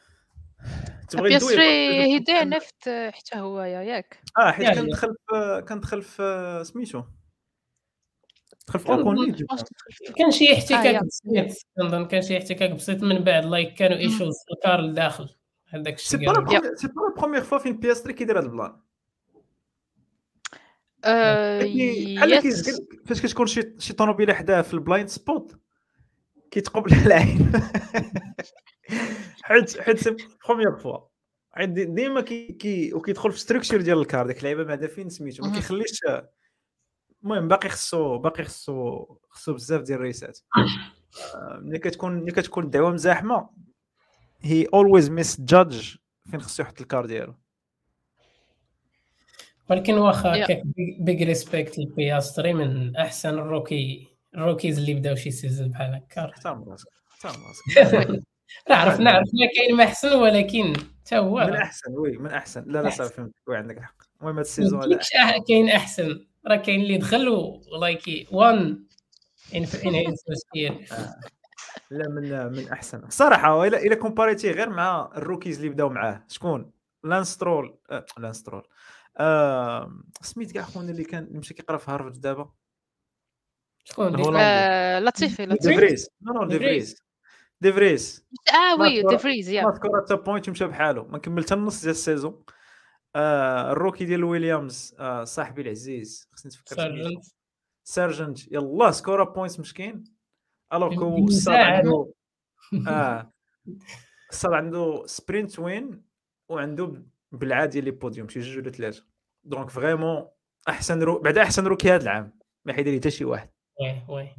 تبغي بياستري هي دي ان اف حتى هو ياك اه حيت كندخل في كندخل في سميتو دخل في اوكون ليد كان شي آه، احتكاك يا. بسيط كنظن كان شي احتكاك بسيط من بعد لايك كانوا ايشوز في الكار لداخل هذاك سي الشيء با لا قالوا بروميير سي با لا بروميير فوا فين بي اس ثري كيدير هاد البلان آه، كي بحال كي يس فاش كتكون شي شي طوموبيله حداه في البلايند سبوت كيتقبل العين حيت حيت سي بروميير فوا عاد دي- ديما كي كي وكيدخل في ستركتشر ديال الكار ديك اللعيبه بعدا فين سميتو ما مهم. كيخليش. المهم باقي خصو باقي خصو خصو بزاف ديال الريسات. آه، ملي كتكون ملي كتكون الدعوه مزاحمه هي اولويز ميس جادج فين خصو يحط الكار ديالو. ولكن واخا يا. هكاك بيج ريسبكت للبياستري من احسن الروكي الروكيز اللي بداو شي سيزون بحال هكا احترم راسك احترم راسك وي. نعرف نعرف ما كاين ما احسن ولكن حتى هو من احسن وي من احسن لا لا صافي فهمت وي عندك الحق. المهم هاد ما السيزون هذا يمكنش أح- كاين احسن راه كاين اللي دخل ولايك وان ان ان هيز سبير لا من من احسن الصراحه. الا الا كومباريتي غير مع الروكيز اللي بداو معاه شكون لانسترول آه لانسترول آه سميت كاع خونا اللي كان اللي مشى كيقرا في هارفارد دابا شكون دي الهولندي آه، لطيفي دي لطيفي فريز نو نو دي ديفريز. فريز دي فريز اه ما وي تكرا- ديفريز يا ما تكرا حتى بوينت مشى بحاله ما كمل حتى النص ديال السيزون. آه الروكي ديال ويليامز آه صاحبي العزيز خصني نتفكر سميتو سارجنت سيرجنت يلاه سكورا بوينتس مسكين الوغ كو الصاد بمساعدة. عنده اه الصاد عنده سبرينت وين وعنده بالعادي لي بوديوم شي جوج ولا ثلاثه. دونك فريمون احسن رو... بعد احسن روكي هذا العام ما حيدير حتى شي واحد. وي وي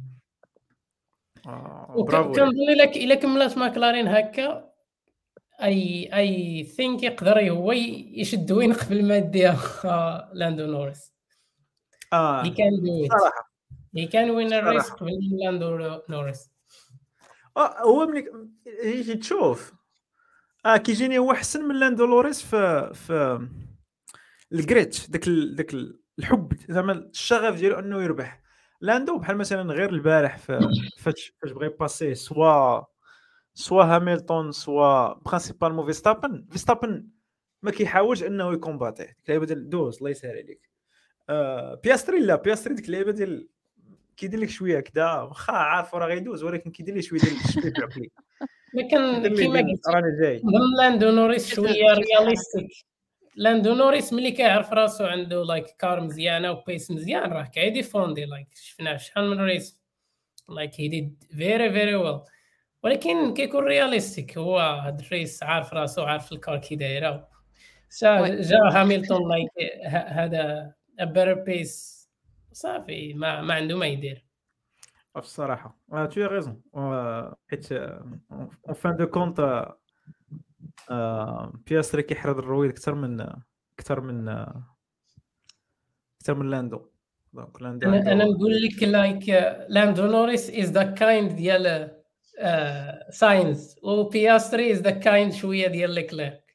آه برافو ليه. كنظن الا الا كملات ماكلارين هكا اي اي ثينك يقدر هو يشد وين قبل ما يديها لاندو نورس. اه هي كان دو ات صراحه هي كان وين الريس صراحة. قبل لاندو نورس. اه هو ملي يجي تشوف اه كيجيني هو احسن من لاندو لوريس في في الجريت داك ال... داك ال- الحب زعما الشغف ديالو انه يربح. لاندو بحال مثلا غير البارح في فاش فاش بغى يباسي سوا سوا هاميلتون سوا برينسيبالمون فيستابن فيستابن ما كيحاولش انه يكومباتي ديك اللعيبه ديال دوز الله يسهل عليك. آه بياستري لا بياستري ديك اللعيبه ديال كيدير لك شويه كدا واخا عارف راه غيدوز ولكن كيدير لك شويه ديال الشبيب العقلي لكن كيدير لك كيما ديال قلت راني جاي. نظن لاندو نوريس شي- شويه شي حركة. رياليستيك. لاندو نوريس ملي كيعرف راسو عنده لايك كار مزيانه وبيس مزيان راه كيديفوندي لايك شفناه في شحال من ريس لايك هي ديد فيري فيري ويل. ولكن كيكون رياليستيك هو هاد الريس عارف راسو عارف الكار كي دايره. جا وي. جا هاميلتون لايك هذا بيتر بيس صافي ما ما عنده ما يدير. الصراحه آه تو ريزون حيت اون فان دو كونت بياستري كيحرد الرويد اكثر من اكثر من اكثر من لاندو. دونك لاندو انا انا عنده نقول لك لايك لاندو نوريس از ذا كايند ديال ساينس وبياستري از ذا كايند شويه ديال ليكليرك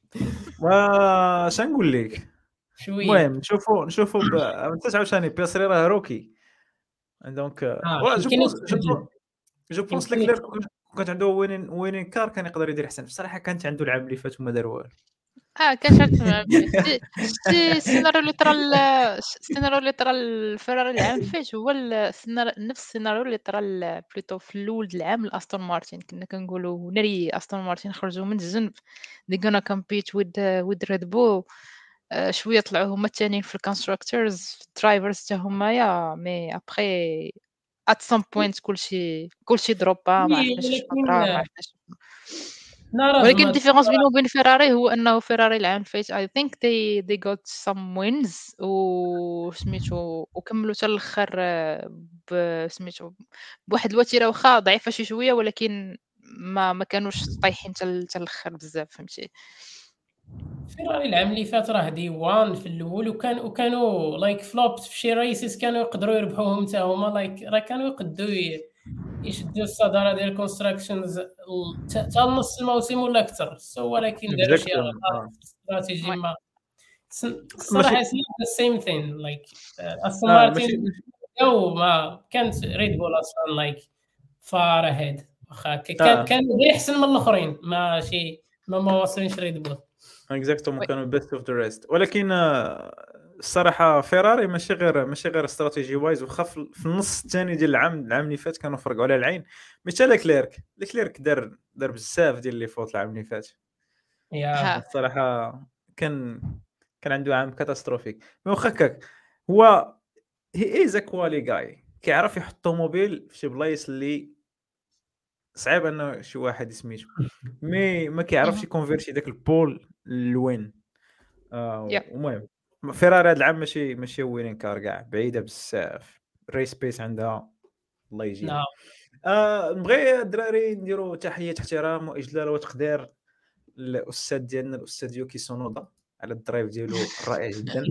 واش نقول لك. شويه. المهم نشوفوا نشوفوا ب... انت عاوتاني بياستري راه روكي دونك آه، وا جو يمكن بونس جو يتبدل. بونس جو بونس يمكن ليكلير كانت عنده وين وين كار كان يقدر يدير احسن بصراحه. كانت عنده العام اللي فات وما دار والو. اه كان شرط شتي شتي السيناريو اللي طرا ال- السيناريو اللي طرا الفراري العام اللي فات هو السيناريو نفس السيناريو اللي طرا ال- بلوتو في الاول د العام لاستون مارتن. كنا كنقولوا ناري استون مارتن خرجوا من الجنب they gonna compete with with Red Bull. آه، شويه طلعوا هما الثانيين في الكونستراكتورز درايفرز حتى هما يا مي ابري at some point كلشي كلشي دروبا ما عرفناش شنو ولكن طرا ما عرفناش. نرى ولكن الديفيرونس بينه وبين فيراري هو انه فيراري العام اللي فات I think they they got some wins و سميتو وكملوا حتى الاخر ب سميتو بواحد الوتيره واخا ضعيفه شي شويه ولكن ما ما كانوش طايحين حتى حتى الاخر بزاف فهمتي. فيراري العام اللي فات راه دي وان في الاول وكان وكانوا لايك فلوبس في شي ريسز كانوا يقدروا يربحوهم حتى هما لايك راه كانوا يقدوا ي- يشدوا الصداره ديال الكونستراكشنز حتى نص الموسم ولا اكثر سو ولكن داروا شي غلطات استراتيجي ما س- الصراحه سي سيم ثين لايك استون آه، ماشي مارتن او ما كانت ريد بول اصلا لايك فار هيد واخا ك- كان آه. كان غير احسن من الاخرين ماشي ما ما واصلينش ريد بول. اكزاكتومون كانوا بيست اوف ذا ريست. ولكن الصراحه فيراري ماشي غير ماشي غير استراتيجي وايز، وخا في في النص الثاني ديال العام العام اللي فات كانوا فرقوا على العين. مثل لكليرك لكليرك دار دار بزاف ديال لي فوت العام اللي فات. يا ها الصراحه كان كان عنده عام كاتاستروفيك. مي واخا هكاك هو هي از كوالي جاي، كيعرف يحط طوموبيل في شي بلايص اللي صعيب انه شي واحد يسميتو، مي ما كيعرفش مهم. يكونفيرتي داك البول لوين. آه يا المهم فيراري هذا العام ماشي ماشي وينين كار كاع، بعيده بزاف. ريس بيس عندها الله يجيب. نعم. آه نبغي الدراري نديروا تحيه احترام واجلال وتقدير للاستاذ ديالنا الاستاذ يوكي سونودا على الدرايف ديالو الرائع جدا.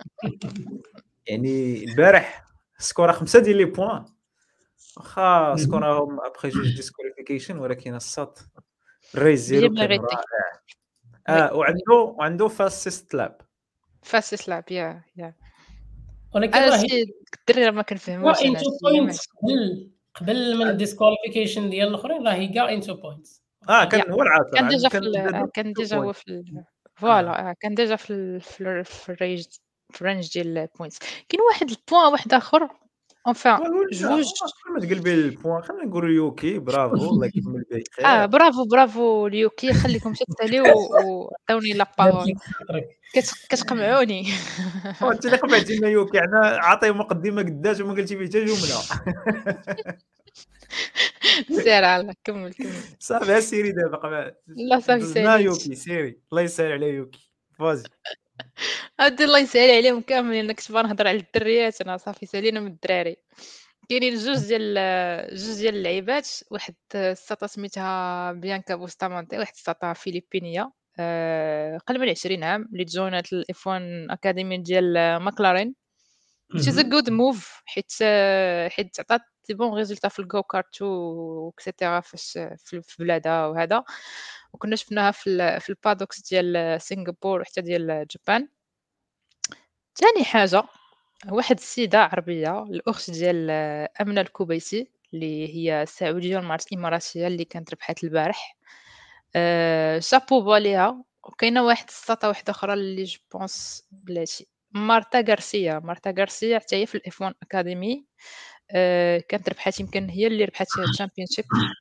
يعني البارح سكورا خمسة ديال لي بوين، واخا سكوراهم ابخي جوج ديسكواليفيكيشن، ولكن الساط الريس بيان ديالو كان ميريتي رائع. وي اه وعنده وعنده فاسيست لاب. فاس لعب يا يا ولكن انا راه شي الدري راه ما هو كنفهموش انا انتو شي بوينتس ماشي قبل قبل من الديسكواليفيكيشن ديال الاخرين، راه هي كاع انتو بوينتس. اه يا كان هو العاصر كان ديجا عند في كان ال... عنده آه، دوبل كان تو ديجا هو بوينت. في ال... اه فوالا آه، كان ديجا في ال... في, ال... في الرينج في الرينج ديال البوينتس. كاين واحد البوان واحد اخر اونفان ولا جوج. ما تقلبي البوان، خلينا نقولوا يوكي برافو الله يكمل به اه خير. برافو برافو ليوكي، خليكم تساليو وعطوني لا بارول. كت... كتقمعوني. وانت اللي قبعتي لنا يوكي، عنا عطيه مقدمه قداش وما قلتي فيه حتى جمله. سير على كمل كمل. صافي سيري دابا قبع لا صافي دزنا ساليت. يوكي سيري الله يسهل على يوكي فازي. هادي الله يسهل عليهم كاملين، انا كنت نهضر على الدريات، انا صافي سالينا من الدراري. كاينين جوج ديال جوج ديال اللعيبات، واحد الساطا سميتها بيانكا بوستامانتي، واحد الساطا فيليبينيه أه قل من عشرين عام، اللي تجونات الاف واحد اكاديمي ديال ماكلارين. which is a good move، حيت حيت عطات دي بون ريزولتا في الجو كارت وكسيتيرا فاش في في بلادها وهذا، وكنا شفناها في ال في البادوكس ديال سنغافور وحتى ديال جابان. ثاني حاجه واحد السيده عربيه الاخت ديال امنه الكوبيسي، اللي هي سعوديه ومعرفت اماراتيه، اللي كانت ربحات البارح. أه شابو ليها. وكاينه واحد السطا واحده اخرى اللي جو بونس بلاتي مارتا غارسيا. مارتا غارسيا حتى هي في الاف واحد اكاديمي، أه كانت ربحات، يمكن هي اللي ربحات الشامبيونشيب.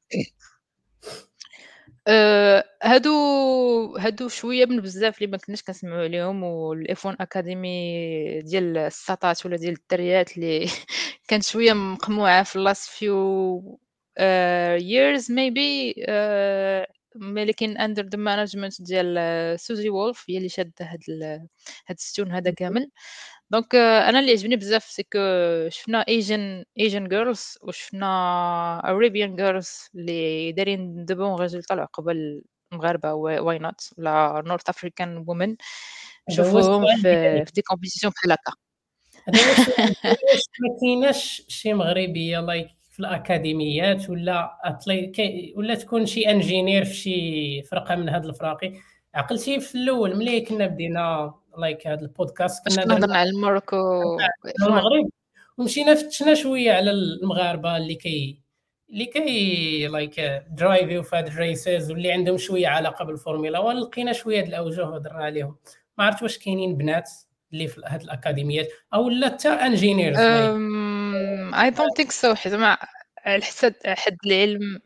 أه هادو هادو شويه من بزاف اللي ما كناش كنسمعوا عليهم، والاف واحد اكاديمي ديال السطات ولا ديال الدريات اللي كانت شويه مقموعه في لاست فيو years maybe. أه لكن اندر ذا مانجمنت ديال سوزي وولف هي اللي شاده هاد هاد الستون هذا كامل. دونك انا اللي عجبني بزاف سكو شفنا ايجن ايجن جيرلز وشفنا اريبيان جيرلز اللي دايرين دو بون ريزولطا العقبه المغاربه، واي نوت ولا نورث افريكان وومن نشوفوهم في في دي كومبيتيسيون بحال هكا. هذا هو السؤال، واش ما كايناش شي مغربيه لايك في الاكاديميات ولا أطلي... كي... ولا تكون شي انجينير في شي فرقه من هاد الفراقي؟ عقلتي في الاول ملي كنا بدينا لايك هاد البودكاست باش كنا كنا درنا هضرنا على الموروكو المغرب ومشينا فتشنا شويه على المغاربه اللي كي اللي كي لايك درايفيو في هاد الريسز واللي عندهم شويه علاقه بالفورمولا واحد، لقينا شويه د الاوجه وهضرنا عليهم. ما عرفت واش كاينين بنات اللي في هاد الاكاديميات او لا حتى انجينيرز لايك اي دونت ثينك سو، حيت ما على حسب حد العلم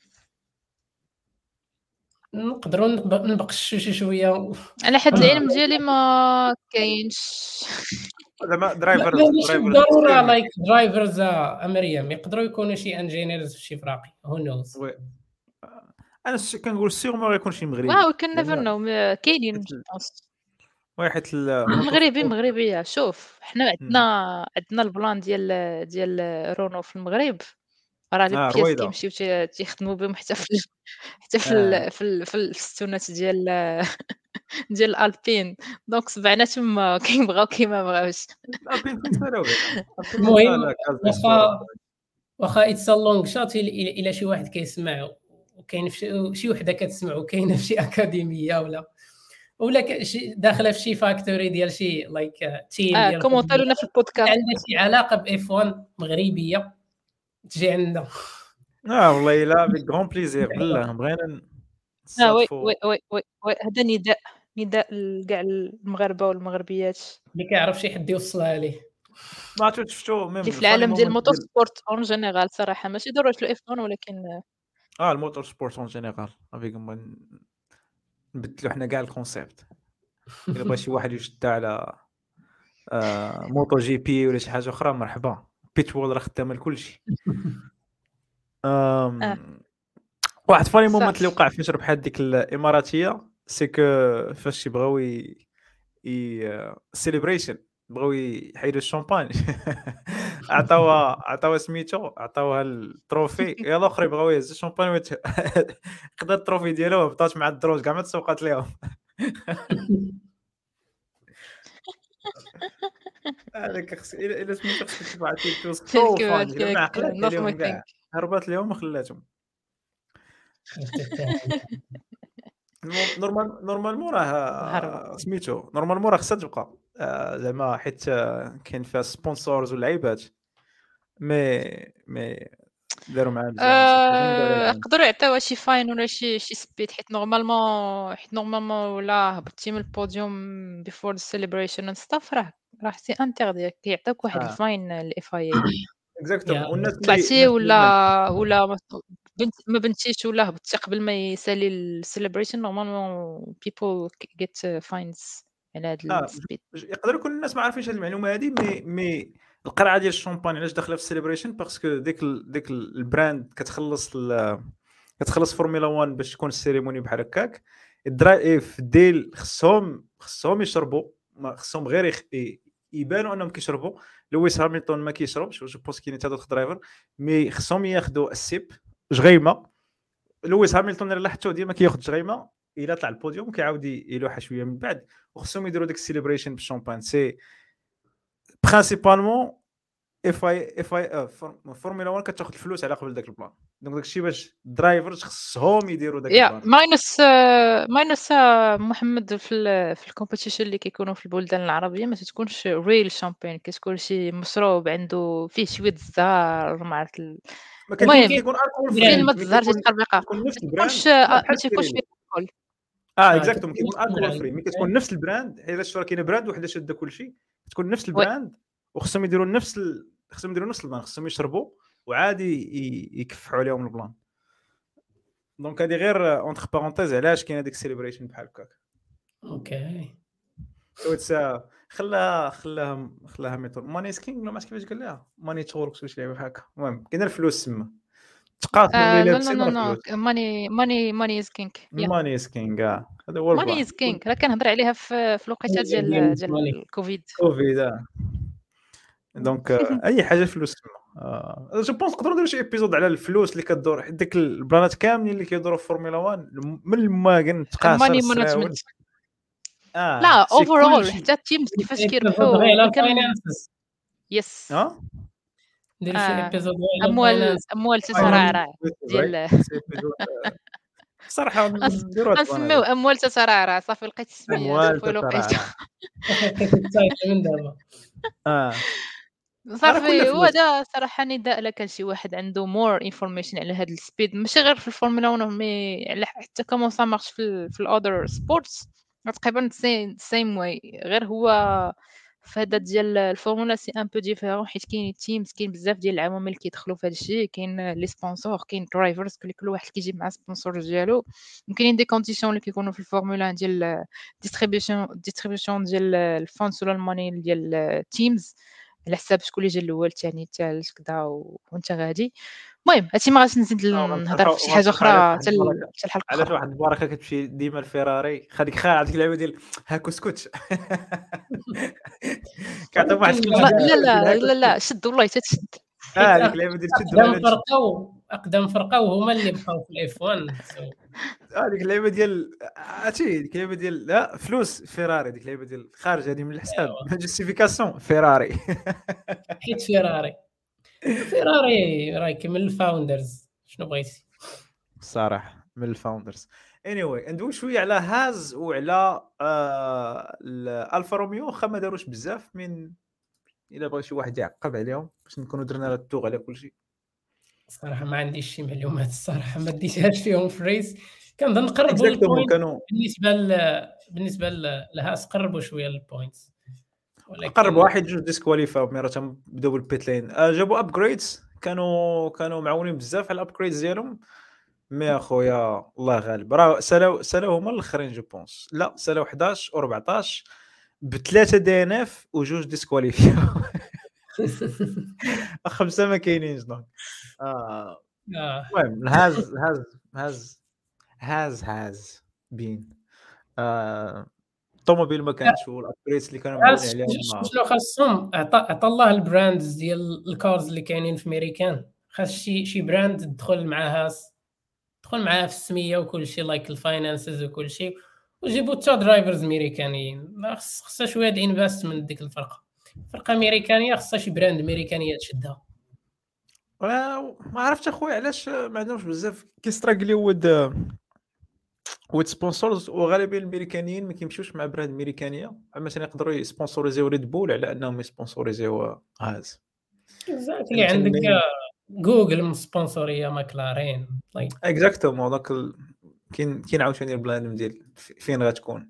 نقدروا نبقشوا شي شويه. على حد العلم ديالي ما كاينش. زعما لا درايفرز ماشي درايفرز بالضروره اكستيرنال. لايك درايفرز مريم، يقدروا يكونوا شي انجينيرز في شي فراقي هو نوز. وي انا ش- كنقول سيغ ما غيكون شي مغربي، واو كان نيفر لان نو، كاينين حيت ال- جوبونس واحد الموتو مغربي سبور. مغربيه. شوف حنا عندنا مم. عندنا البلان ديال ديال رونو في المغرب، راه لي اه بياس رويضه. كيمشيو تي- تيخدموا بهم حتى في ال- حتى في اه ال- في ال- في الستونات ديال ديال الالبين. دونك سبعنا تما كيبغاو كيما بغاوش. البين تنسالو بها، البين المهم لا كاز دي سبور. واخا واخا اتس لونغ شات الى شي واحد كيسمع وكاين شي, شي وحده كتسمع وكاينه في شي اكاديميه ولا ولا ك- شي داخله في شي فاكتوري ديال شي لايك تيم اه ديال كومونتيرو لنا في البودكاست. عندها شي علاقه باف واحد مغربيه تجي عندنا. اه والله الا بغون بليزير بالله بغينا اه وي نصادفوا. وي وي وي, وي. هذا نداء نداء لكاع المغاربه والمغربيات اللي كيعرف شي حد يوصلها ليه. ما عرفتش شفتو ميم اللي في الفاني العالم ديال مومنت الموتور ديال سبورت اون جينيرال صراحه ماشي ضروري الاف واحد ولكن اه الموتور سبورت اون جينيرال افيك نبدلو حنا كاع الكونسيبت. الا بغى شي واحد يشد على آه موتو جي بي ولا شي حاجه اخرى مرحبا، بيتوول راه خدامه لكلشي. آه. أم... واحد فاني مومنت اللي صافي. وقع فاش ربحات ديك الاماراتيه سي كو فاش يبغاو ي سيليبريشن بغاو يحيدوا الشامبان عطاوها عطاوها سميتو عطاوها التروفي، يا الاخر بغاو يهز الشامبان وت... خدا التروفي ديالو وهبطات مع الدروج كاع ما تسوقات ليهم. هذاك خص الا إلا سميتو خصك تشوف على تيك توك سو تلك فاني ما عقلات تلك عليهم نظمي كاع، ثينك هربات ليهم وخلاتهم. نورمال نورمالمون هربة. راه سميتو نورمالمون راه خصها تبقى آه، زعما حيت آه، كاين فيها سبونسورز ولعيبات مي مي داروا معاه مزيان صافي غنبداو على آه، العام. يقدروا يعطيوها شي فاين ولا شي شي سبيد حيت نورمالمون حيت نورمالمون ولا هبطتي من البوديوم بيفور السيليبريشن اند ستاف راه راه سي انتردي كيعطيوك واحد اه الفاين الاف اي اي اكزاكتومون. يا والناس اللي طلعتي الناس اللي ما ولا ولا ما بنت ما بنتيش ولا هبطتي قبل ما يسالي السيليبريشن نورمالمون بيبل جيت فاينز على هاد اه السبيد. ج- يقدر يكون الناس ما عارفينش هذه المعلومه هذه مي مي القرعه ديال الشامبان علاش داخله في السيليبريشن باسكو ديك ال... ديك ال- البراند كتخلص ال... كتخلص فورمولا واحد باش تكون السيريموني بحال هكاك. الدراري في الديل خصهم خصهم يشربوا، ما خصهم غير يخ... ي- يبانوا انهم كيشربوا. لويس هامilton ما كيشربش جو بونس كاين حتى دوك درايفر مي خصهم ياخذوا السيب جغيمه. لويس هامilton اللي لاحظتو ديما كياخذ جغيمه الى طلع البوديوم كيعاود يلوحها شويه من بعد، وخصهم يديروا ديك السيليبريشن بالشامبان. سي برينسيبالمون اف اي اف اي فورمولا واحد كتاخذ الفلوس على قبل داك البلان، دونك داكشي باش الدرايفرز خصهم يديروا داك يا البلان. ماينس ماينس محمد في ال في الكومبيتيشن اللي كيكونوا في البلدان العربيه ما تتكونش ريل شامبين، كتكون شي مشروب عنده فيه شويه الزهر ما عرفت ال- ما كيكون المهم كيكون الكول فين فري ما براند. مي تزهر كيكون تتخربيقه كيكون نفس ما تكونش البراند لا بحال ما تيكونش الكريمي. فيه الكحول. اه اه اكزاكتوم كتكون كيكون نفس الكول البراند. فري مي كتكون نفس البراند. الا شفتوا راه كاين براند وحده شاده كلشي تكون نفس وي البراند وخصهم يديروا نفس ال... خصهم يديروا نفس البلان، خصهم يشربوا وعادي ي... يكفعوا عليهم البلان. دونك هذه غير اونتر بارونتيز علاش كاين هذيك السيليبريشن بحال هكاك. اوكي سو اتس خلاها خلاها خلاها ميتور ماني سكينغ ولا ما عرفت كيفاش قال لها ماني توركس ولا شي لعبه بحال هكا. المهم كاين الفلوس تما تقاتلوا آه اللي لا لا لابسين لا راه لا فلوس. ماني ماني ماني از كينج يا ماني سكينغ آه. هذا هو ماني البلان. از كينج راه كنهضر عليها في في الوقيته ديال ديال الكوفيد. كوفيد آه. دونك آه، اي حاجه فلوس تما. آه. جو بونس نقدروا نديروا شي ايبيزود على الفلوس اللي كدور حيت ديك البلانات كاملين اللي كيدوروا في فورمولا واحد من الماكن تقاصر ماني السراول مانجمنت اه لا سي اوفرول كلشي حتى التيمز كيفاش غير كيربحوا على ملي كان الفاينانس. يس اه ندير شي آه. ايبيزود على اموال الفاينانس. اموال تترعرع ديال سي ايبيزود صراحه غنس- نديروا هاد البلان غنسميو هذا اموال تترعرع صافي لقيت السميه اموال شوفوا الوقيته تترعرع. لقيت التايتل من دابا. اه راه كلها صافي فلوس. وهذا صراحه نداء لك كان شي واحد عنده مور انفورميشن على هذا السبيد ماشي غير في الفورمولا واحد مي على حتى كومون سا مارش في ال في الاذر سبورتس تقريبا سيم واي غير هو في هذا ديال الفورمولا سي ان بو ديفيرون حيت كاين تيمز كاين بزاف ديال العوامل اللي كيدخلوا في هذا الشيء كاين لي سبونسور كاين درايفرز كل واحد كيجيب مع سبونسور ديالو وكاينين دي كونديسيون اللي كيكونوا في الفورمولا ديال ديستريبيوشن ديستريبيوشن ديال الفونس ولا الماني ديال التيمز على حساب شكون اللي جا الاول الثاني الثالث كذا وانت غادي. المهم هادشي ما غاديش نزيد نهضر في شي حاجه اخرى حتى حتى الحلقه علاش اخرى. واحد البركه كتمشي ديما الفيراري خديك خا هذيك اللعبه ديال هاكو سكوت كيعطيو واحد لا لا لا لا شد والله تتشد. اه هذيك اللعبه ديال شد اقدم ولا فرقه اقدم فرقه وهما اللي بقاو في الاف واحد. اه ديك اللعبه ديال عرفتي ديك اللعبه ديال لا فلوس فيراري ديك اللعبه ديال خارج هذه من الحساب جوستيفيكاسيون فيراري حيت فيراري فيراري راهي من الفاوندرز شنو بغيتي الصراحه من الفاوندرز. anyway ندوي شويه على هاز وعلى آه الفا روميو. واخا ما داروش بزاف من الا بغى شي واحد يعقب عليهم باش نكونوا درنا التوغ على كل شيء. الصراحه ما عنديش شي معلومات الصراحه ما ديتهاش فيهم في الريس كنظن نقربوا اكزاكتومون البوينت كانوا بالنسبه ل... بالنسبه ل- لهاس قربوا شويه البوينتس، قرب ولكن واحد جوج ديسكواليفاو مي راه تنبداو بالبيت لين. آه، جابوا ابجريدز، كانوا كانوا معاونين بزاف على الابجريدز ديالهم. مي اخويا الله غالب، راه سالاو سالاو هما الاخرين جو بونس. لا سالاو حداش و أربعطاش بثلاثه دي ان اف وجوج ديسكواليفيو. خمسه ما كاينينش دونك. آه، آه. المهم هاز هاز هاز هاز هاز بين آه، الطوموبيل ما كانش، والابجريدز اللي كانوا معاونين عرفت عليهم ش- ما- شنو خاصهم؟ عطى عطى الله البراندز ديال الكارز اللي كاينين في ميريكان، خاص شي شي براند تدخل معاها تدخل معاها في السميه وكل شيء، لايك الفاينانسز وكل شيء، وجيبوا تا درايفرز ميريكانيين. لا، خص- خصها شويه د انفستمنت ديك الفرقه، فرقه امريكانيه خصها شي براند امريكانيه تشدها. آه، ما عرفتش اخويا علاش ما عندهمش بزاف كيستراغليو ود ود سبونسورز، وغالبا الامريكانيين ما كيمشيوش مع براند امريكانيه. مثلا يقدروا يسبونسوريزيو ريد بول على انهم يسبونسوريزيو هاز. اكزاكتلي، عندك فهمتني؟ جوجل مسبونسوريه ماكلارين، لايك اكزاكتومون دونك ال- كاين كاين عاوتاني البلان ديال في- فين غتكون.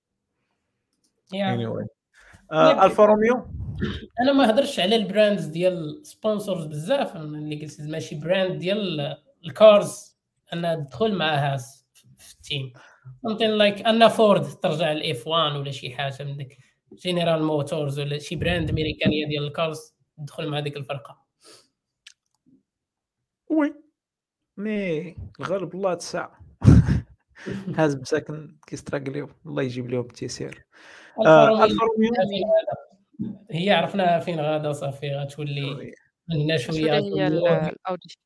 يا anyway انا آه، الفا روميو. انا ما هضرش على البراندز ديال سبونسورز بزاف، أنا اللي قلت ماشي براند ديال الكارز انا تدخل معها في التيم، ممكن لايك ان فورد ترجع الاف واحد ولا شي حاجه من ديك جنرال موتورز ولا شي براند امريكانيه ديال الكارز تدخل مع ديك الفرقه. وي مي الغالب الله تسع. هاز مساكن كيستراغليو، الله يجيب لهم التيسير. الفا آه، روميو الفا روميو فين غادا، هي عرفناها فين غادا صافي غتولي عندنا شويه شويه هي ال- الاودي.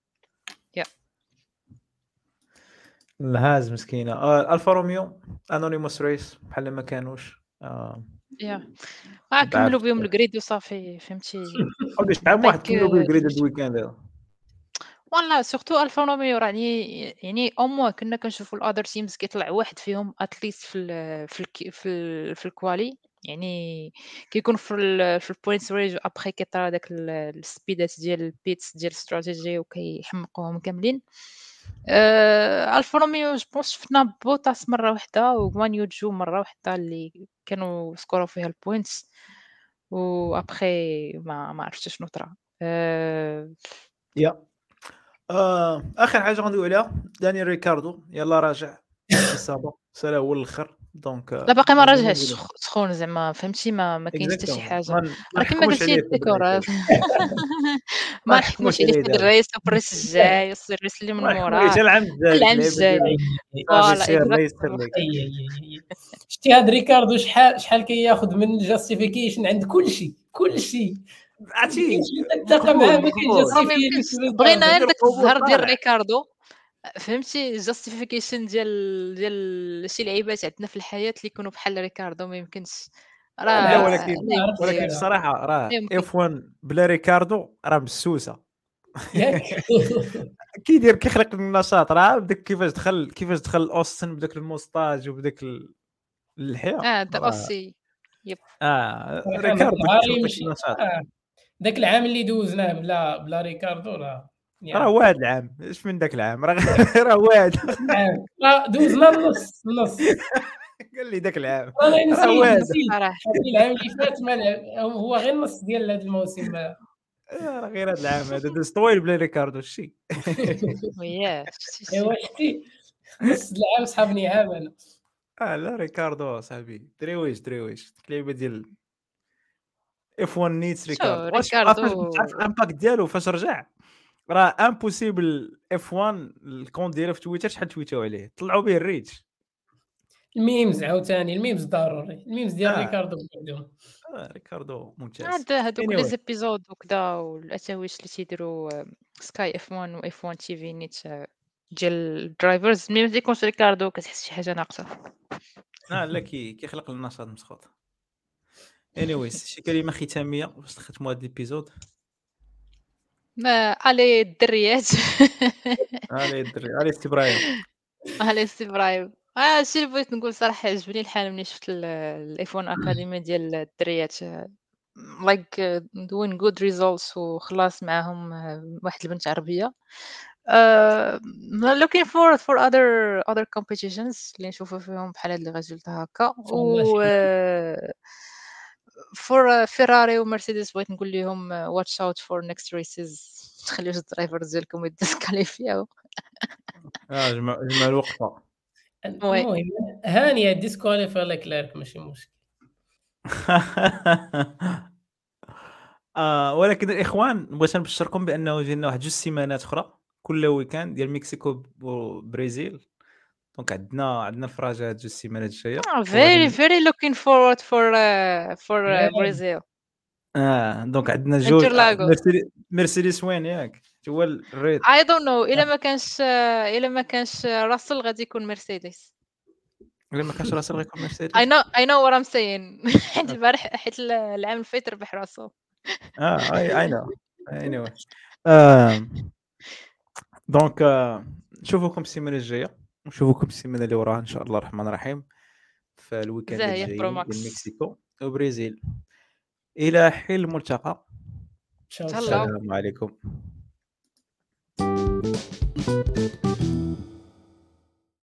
الهاز مسكينه. آه، الفا روميو انونيموس ريس بحال ما كانوش. آه، يا آه كملوا بهم الجريد وصافي، فهمتي. قولي شحال من واحد Like, كملوا آه، بالجريد فهمتي. الويكاند هذا. والله سورتو الفا روميو راني يعني او موان كنا كنشوفوا الاذر تيمز كيطلع واحد فيهم اتليست في ال في ال في ال في الكوالي، يعني كيكون في ال في البوينتس ريج، ابخي كيطرا داك ال- السبيدات ديال البيتس ديال الاستراتيجي وكيحمقوهم كاملين. آه الفا روميو جو بونس شفنا بوتاس مره واحده وغوان يوجو مره واحده اللي كانوا سكوروا فيها البوينتس، وابخي ما ما عرفتش شنو طرا. آه يا آه، اخر حاجه غندوي عليها دانيال ريكاردو، يلا راجع الصابه سالا هو الاخر دونك. لا باقي ما راجعش سخ- سخون زعما، فهمتي، ما ما كاينش حتى شي حاجه. ما راه كما نحكموش قلتي عليه في الديكور البداية. ما ما نحكموش نحكموش عليه عليه في هاد دابا. الريس والريس الجاي يصير الريس اللي من ما نحكمو عليه موراه حتى العام الجاي العام اللعيبه الجاي. ديالو. فوالا سير الله يسر اكزاكتومون. لك. اي اي اي شتي هاد ريكاردو شحال شحال كياخذ من الجاستيفيكيشن عند كل شيء كل شيء، عرفتي تتفق معاه ما مقبول كاينش ما مقبول يمكنش justification. بغينا غير ندير داك قبول الزهر ديال طالع. ريكاردو، فهمتي. الجاستيفيكيشن ديال ديال شي لعيبات عندنا في الحياه اللي يكونوا بحال ريكاردو ما يمكنش. لا راه ولكن لا يمكن. ولكن الصراحه راه لا يمكن. اف واحد بلا ريكاردو راه مسوسه. ياك كيدير كيخلق النشاط، راه بداك كيفاش دخل كيفاش دخل اوستن بداك الموستاج وبداك ال- اللحيه. اه دا راه- اوسي. يب. اه صراحة ريكاردو داك النهار كيخلق يمشي. النشاط. آه. داك العام اللي دوزناه بلا بلا ريكاردو راه راه يعني واحد العام، اش من داك العام راه راه واحد. العام راه دوزنا النص النص. قال لي داك العام انا راه نسيت واحد. نسيت صراحه هادي العام اللي فات ما لعب، هو غير النص ديال هذا الموسم. آه، راه غير هذا العام هذا داز طويل بلا ريكاردو شي. وياه شتي شتي. ايوا شتي نص د العام صحابني عام انا. اه لا ريكاردو صاحبي دريويش دريويش اللعيبه ديال اف واحد نيتس شو ريكاردو. واش ريكاردو عارف عارف الامباكت ديالو فاش رجع؟ راه امبوسيبل اف واحد الكونت ديالو في تويتر شحال تويتاو عليه طلعوا به الريتش. الميمز عاوتاني الميمز ضروري، الميمز ديال آه. ريكاردو وحدهم. آه ريكاردو ممتاز. عاد هادوك لي anyway زيبيزود وكذا والاتاويش اللي تيديروا سكاي اف واحد و اف واحد تي في نيت ديال الدرايفرز، ملي ما تيكونش ريكاردو كتحس شي حاجه ناقصه. اه لا كي كيخلق النشاط مسخوط. anyways شي كلمه ختاميه باش نختموا هذا الابيزود. ما علي الدريات. علي الدري علي سي ابراهيم. علي سي ابراهيم. اه الشيء اللي بغيت نقول صراحه عجبني الحال ملي شفت الاف واحد اكاديمي ديال الدريات، لايك دوين جود ريزولتس وخلاص معاهم آه، واحد البنت عربيه. آه، looking forward for other other competitions اللي نشوفوا فيهم بحال هاد لي ريزولتا هكا ان شاء الله و شي آه، for فيراري ومرسيدس بغيت نقول لهم uh, watch out for next races تخليوش الدرايفرز ديالكم يديسكاليفياو. اه جمع جمع الوقفه. وي المهم هانيه ديسكواليفي لكلارك ماشي مشكل. آه ولكن الاخوان بغيت نبشركم بانه جينا واحد جوج سيمانات اخرى كل ويكاند ديال مكسيكو وبرازيل. دونك عندنا عندنا الفراجه هاد جوج سيمانات الجايه Ah, very وغادي very looking forward for uh, for uh, يا Brazil اه دونك عندنا جوج آه، انترلاغو. مرسيدس مرسيدس وين ياك هو الريد. I don't know الا ما كانش الا ما كانش راسل غادي يكون مرسيدس. الا ما كانش راسل غيكون I مرسيدس. know I know what I'm saying حيت البارح حيت العام اللي فات ربح راسو. اه اي اي نو anyway آه دونك آه نشوفكم السيمانه الجايه ونشوفكم السيمانه اللي وراها ان شاء الله الرحمن الرحيم في الويكاند زاهية برو الجايين ماكس. ديال مكسيكو وبرازيل. الى حين الملتقى. تشاو تهلاو. تشاو. السلام عليكم.